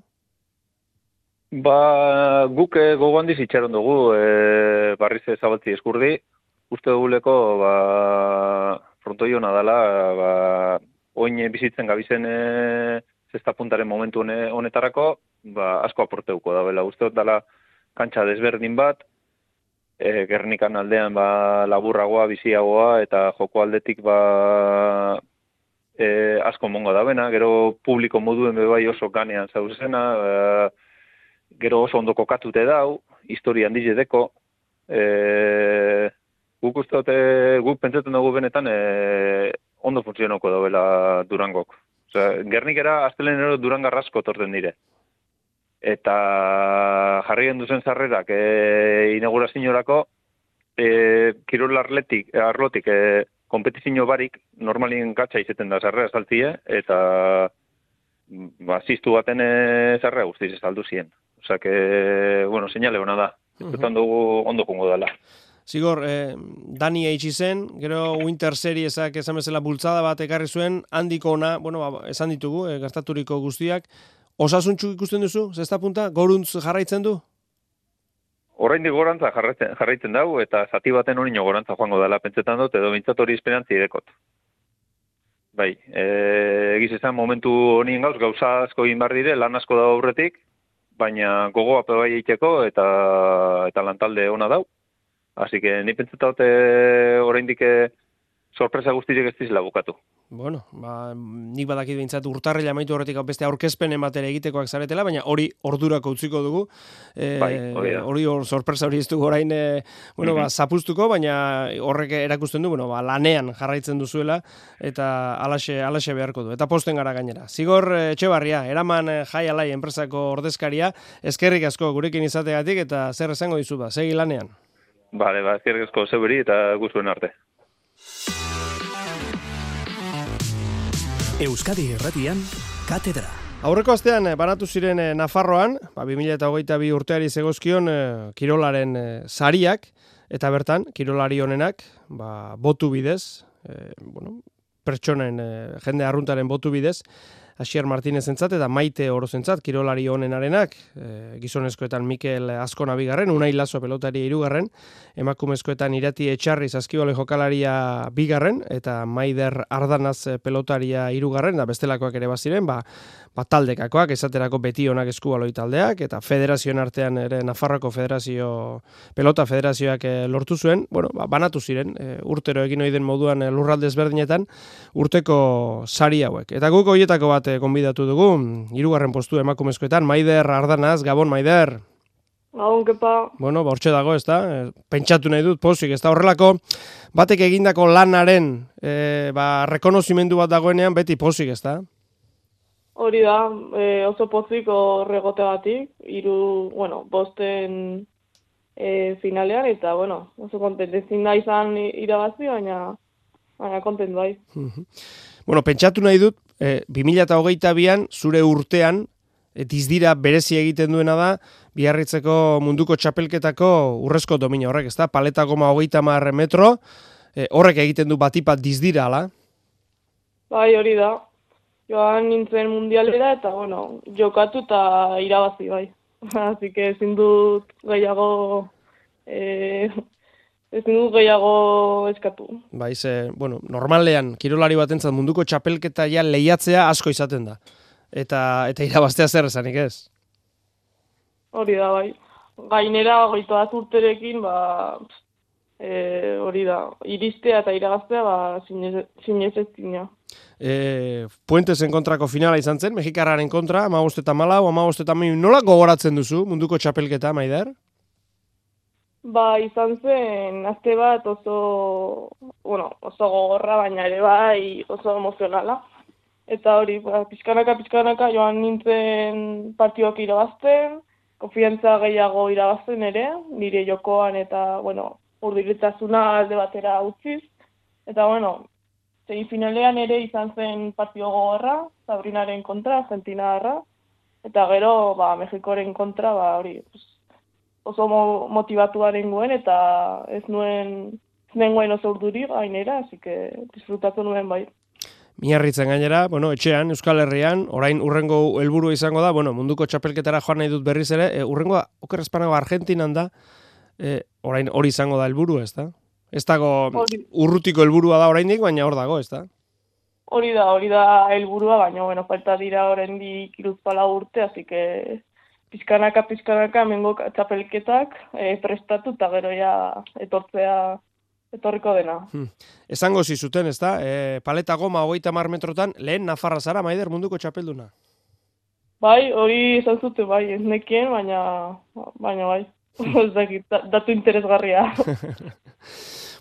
Guk gogo handiz itxaron dugu, barriz zabaltzi Eskurdi, uste duguleko frontoi hona dela, oin bizitzen gabizen zesta puntaren momentu honetarako, asko aporteuko da bela. Uste dut dela kantxa desberdin bat, Gernikan aldean laburragoa, biziagoa, eta joko aldetik asko mongo da bena, gero publiko moduen bebai oso ganean zauzena, gero oso ondo kokatute dau, historia handiz edeko, guk uste dute, guk pentsatzen dugu benetan ondo funtzionoko dauela Durangok. Osea, Gernikera astelenero Durangarra asko torten dire. Eta jarri genduzen sarrerak inauguraziorako kirol arlotik kompetizio barik normalien katxa izeten da sarrera saltzie eta ziztu baten sarrera guztiz saldu zien. Osea que, bueno, señale ona da. Eztan dugu ondo jungo dela. Zigor, Dani eitsi zen, gero Winter Seriesak esan bezala bultzada bat ekarri zuen, handiko ona, bueno, esan ditugu, gertaturiko guztiak. Osasuntxu ikusten duzu, zesta punta? Goruntz jarraitzen du? Oraindik gorantza jarraitzen dau, eta zati baten horino gorantza joango dela pentsetan dut, edo bintzat hori esperantzi idekot. Bai, egiz esan momentu honien gauza asko egin behar dire, lan asko da aurretik, baina gogoa bai eiteko eta lantalde ona dau. Así que ni pentsetan dut oraindik sorpresa guztirik ez dizela bukatu. Bueno, nik badakit behintzat urtarrila amaitu horretik beste aurkezpen ematere egitekoak zaretela, baina hori ordurako utziko dugu. Hori sorpresa hori ez dugu orain zapuztuko, baina horrek erakusten du, lanean jarraitzen duzuela, eta alaxe beharko du. Eta posten gara gainera. Zigor Etxebarria, eraman Jai Alai enpresako ordezkaria, eskerrik asko gurekin izategatik, eta zer esango dizu ba, segi lanean. Bale, eskerrik asko zeuberi eta guztuen arte. Euskadi Irratian, Katedra. Aurreko astean banatu ziren Nafarroan, 2022 urteari zegozkion kirolaren sariak, eta bertan, kirolari honenak, botu bidez, pertsonen, jende arruntaren botu bidez, Asier Martinez entzat eta Maite Orozentzat, kirolari honenarenak, gizonezkoetan Mikel Azkona bigarren, Unai Laso pelotari 3, emakumezkoetan Irati Etxarri saskibole jokalaria 2, eta Maider Ardanaz pelotaria 3, da bestelakoak ere baziren, taldekakoak, esaterako beti onak eskubaloi taldeak, eta federazioen artean ere Nafarroko pelota federazioak lortu zuen, banatu ziren, urtero egin ohi den moduan lurralde ezberdinetan, urteko sari hauek. Eta guk horietako bat konbidatu dugu, 3. postu emakumezkoetan, Maider Ardanaz, Gabon Maider. Gabon, kepa. Hortxe dago, ez da? Pentsatu nahi dut, pozik, ez da? Horrelako, batek egindako lanaren rekonozimendu bat dagoenean, beti pozik, ez da? Hori da, oso pozik horregotegatik, 5 finalean, eta, oso kontent, ezin da izan irabazi, baina kontent bai. Pentsatu nahi dut, 2022an, zure urtean, dizdira berezi egiten duena da, Biarritzeko munduko txapelketako urrezko domina horrek, ez da? Paleta goma 30 metro, horrek egiten du batipat dizdira, ala? Bai, hori da. Joan nintzen mundialera eta, jokatu eta irabazi, bai. Así que ezin dut gehiago eskatu. Bai, normalean, kirolari batentzat munduko txapelketa ja lehiatzea asko izaten da. Eta irabaztea zer esanik ez? Hori da, bai. Gainera, 21 urterekin, hori da, iristea eta irabaztea, zinezezina. Puentesen kontrako finala izan zen, Mexikarraren kontra, 15-14, 15-14, nola gogoratzen duzu munduko txapelketa, Maider? Izan zen, azte bat oso gogorra, baina ere bai oso emozionala. Eta hori, pizkanaka joan nintzen partioak irabazten, konfiantza gehiago irabazten ere, nire jokoan eta, urduritasuna alde batera utziz. Eta, semifinalean ere izan zen partio gogorra, Sabrinaren kontra, Argentinarra, eta gero, Mexikoren kontra, hori, oso motivatuaren guen, eta ez nuen oso urduri gainera, así que disfrutatu nuen bai. Miarritzen gainera, etxean, Euskal Herrian, orain urrengo helburua izango da, munduko txapelketara joan nahi dut berriz ere, urrengoa, okerrezpanago Argentinan da, orain hori izango da helburu, ez da? Ez dago urrutiko helburua da oraindik, baina hor dago, ez da? Hori da helburua, baina, falta dira oraindik 3 urte, así que pizkanaka hemengo txapelketak prestatu eta gero ja etorriko dena. Esango zizuten, ez da? Paleta goma 30 metrotan, lehen Nafarra zara, Maider, munduko txapelduna? Bai, hori esan zuten, bai, ez nekien, baina bai. Ez dakit, datu interesgarria.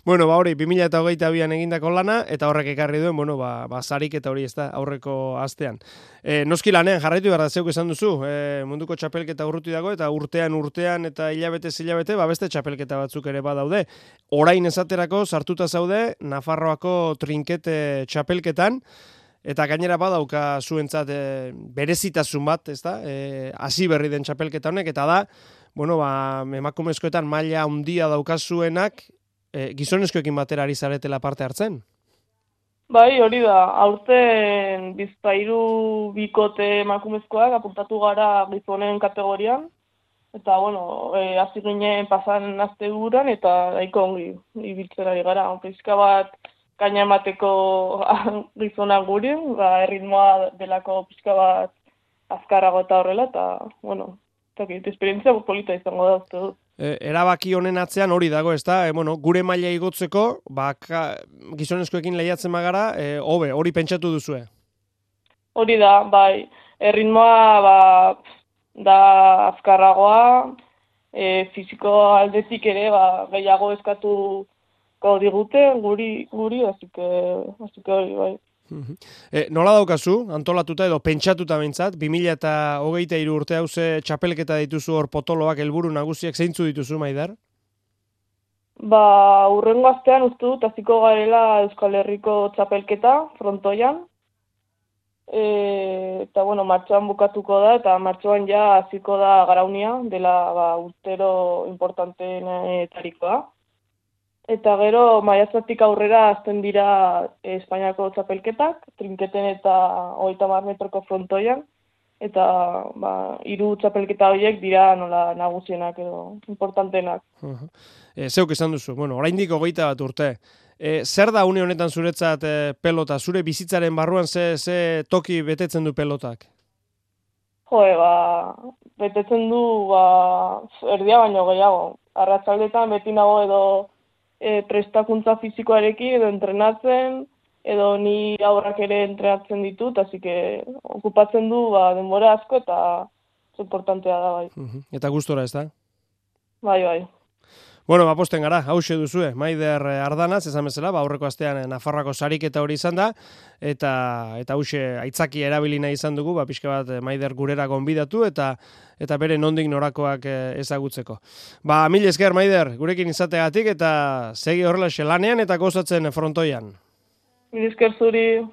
Bueno, hori, 2022an egindako lana, eta horrek ekarri duen, sarik eta hori ez da, aurreko astean. Noski lanean, jarraitu behar da, zeuk esan duzu, munduko txapelketa urruti dago, eta urtean, eta hilabete, beste txapelketa batzuk ere badaude. Orain esaterako, sartuta zaude, Nafarroako trinkete txapelketan, eta gainera badauka zuentzat berezitasun bat, ez da, hasi berri den txapelketa honek, eta da, emakumezkoetan maila handia daukazuenak, gizonezkoekin batera ari zaretela parte hartzen? Bai, hori da, aurten bizpahiru bikote emakumezkoak apuntatu gara gizonen kategorian, eta, hasi ginen pasan asteburuan, eta nahiko ongi ibiltzen ari gara. Pixka bat kaina emateko gizonak guri, erritmoa delako pixka bat azkarrago eta horrela, eta, esperientzia polita izango da, uste dut. Erabaki honen atzean hori dago, ez da? Gure maila igotzeko, gizonezkoekin lehiatzen magara, hori pentsatu duzue? Hori da, bai. Erritmoa da azkarragoa, fiziko aldetik ere gehiago eskatuko digute guri, así que hori, bai. Nola daukazu, antolatuta edo pentsatuta behintzat, 2023 urte hauze txapelketa dituzu hor potoloak helburu nagusiak zeintzu dituzu, Maider? Urrengo astean uste dut hasiko garela Euskal Herriko txapelketa frontoian. Eta martxoan bukatuko da, eta martxoan ja hasiko da Garaunia, dela urtero importanteenetarikoa. Eta gero, maiatzatik aurrera azten dira Espainiako txapelketak, trinketen eta 30 metroko frontoian, eta 3 txapelketa horiek dira nola nagusienak edo importantenak. Zeuk esan duzu, oraindik 21 urte. Zer da une honetan zuretzat pelota? Zure bizitzaren barruan ze toki betetzen du pelotak? Betetzen du erdia baino gehiago. Arratsaldetan beti nago edo prestakuntza fizikoarekin edo entrenatzen, edo ni aurrak ere entrenatzen ditut, así que okupatzen du denbora asko eta importantea da, bai. Eta gustora, ez da? Bai. Posten gara, hauxe duzue, Maider Ardanaz, esan bezala, aurreko astean Nafarroako sariketa hori izan da, eta hauxe aitzakia erabili nahi izan dugu, pixka bat Maider gurera gonbidatu, eta bere nondik norakoak ezagutzeko. Mil esker, Maider, gurekin izateagatik, eta segi horrela lanean eta gozatzen frontoian. Mil esker zuri.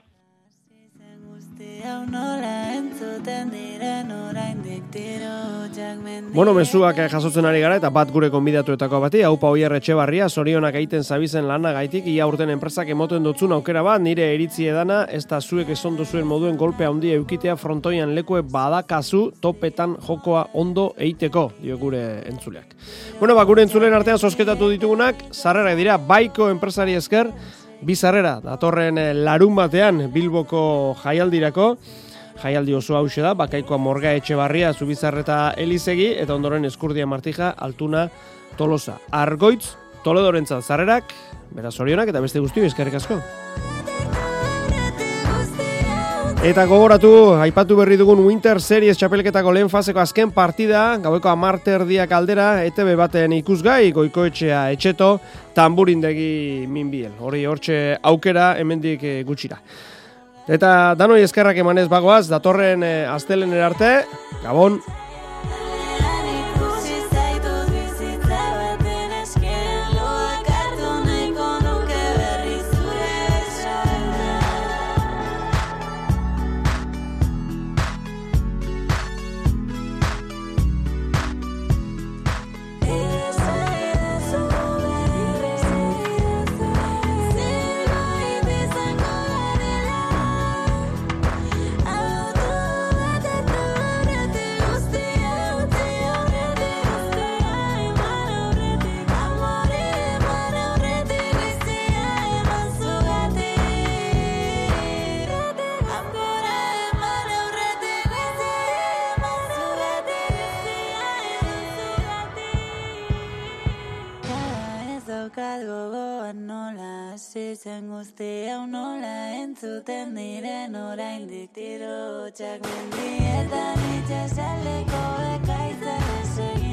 Mezuak jasotzen ari gara eta bat gure konbidatuetako bati, Aupa Oier Etxebarria, zorionak egiten zabizen lana gaitik, ia urten enpresak emoten dutzun aukera bat, nire iritzi edana, ez da zuek eson duzuen moduen golpea handia eukitea frontoian lekue badakazu topetan jokoa ondo eiteko, dio gure entzuleak. Gure entzuleen artean zozketatu ditugunak, sarrerak dira, Baiko enpresari esker, 2 sarrera, datorren larun batean Bilboko jaialdirako, jaialdi oso hause da, Bakaikoa Morga Etxebarria, Zubizarreta Elizegi, eta ondoren Eskurdia Martija, Altuna Tolosa. Argoitz, Toledorentzat sarrerak, beraz zorionak eta beste guztio eskerrik asko. Eta gogoratu, aipatu berri dugun Winter Series txapelketako lehen faseko azken partida, gaueko 10:00 aldera, ETB baten ikusgai, Goikoetxea Etxeto, Tamburindegi Minbiel. Hori hortxe aukera hemendik gutxira. Eta danoi eskerrak emanez bagoaz, datorren astelener arte, Gabon! Zen guzti hau nola entzuten diren oraindik tiro txak mendietan itxasaldeko ekaitzen esegi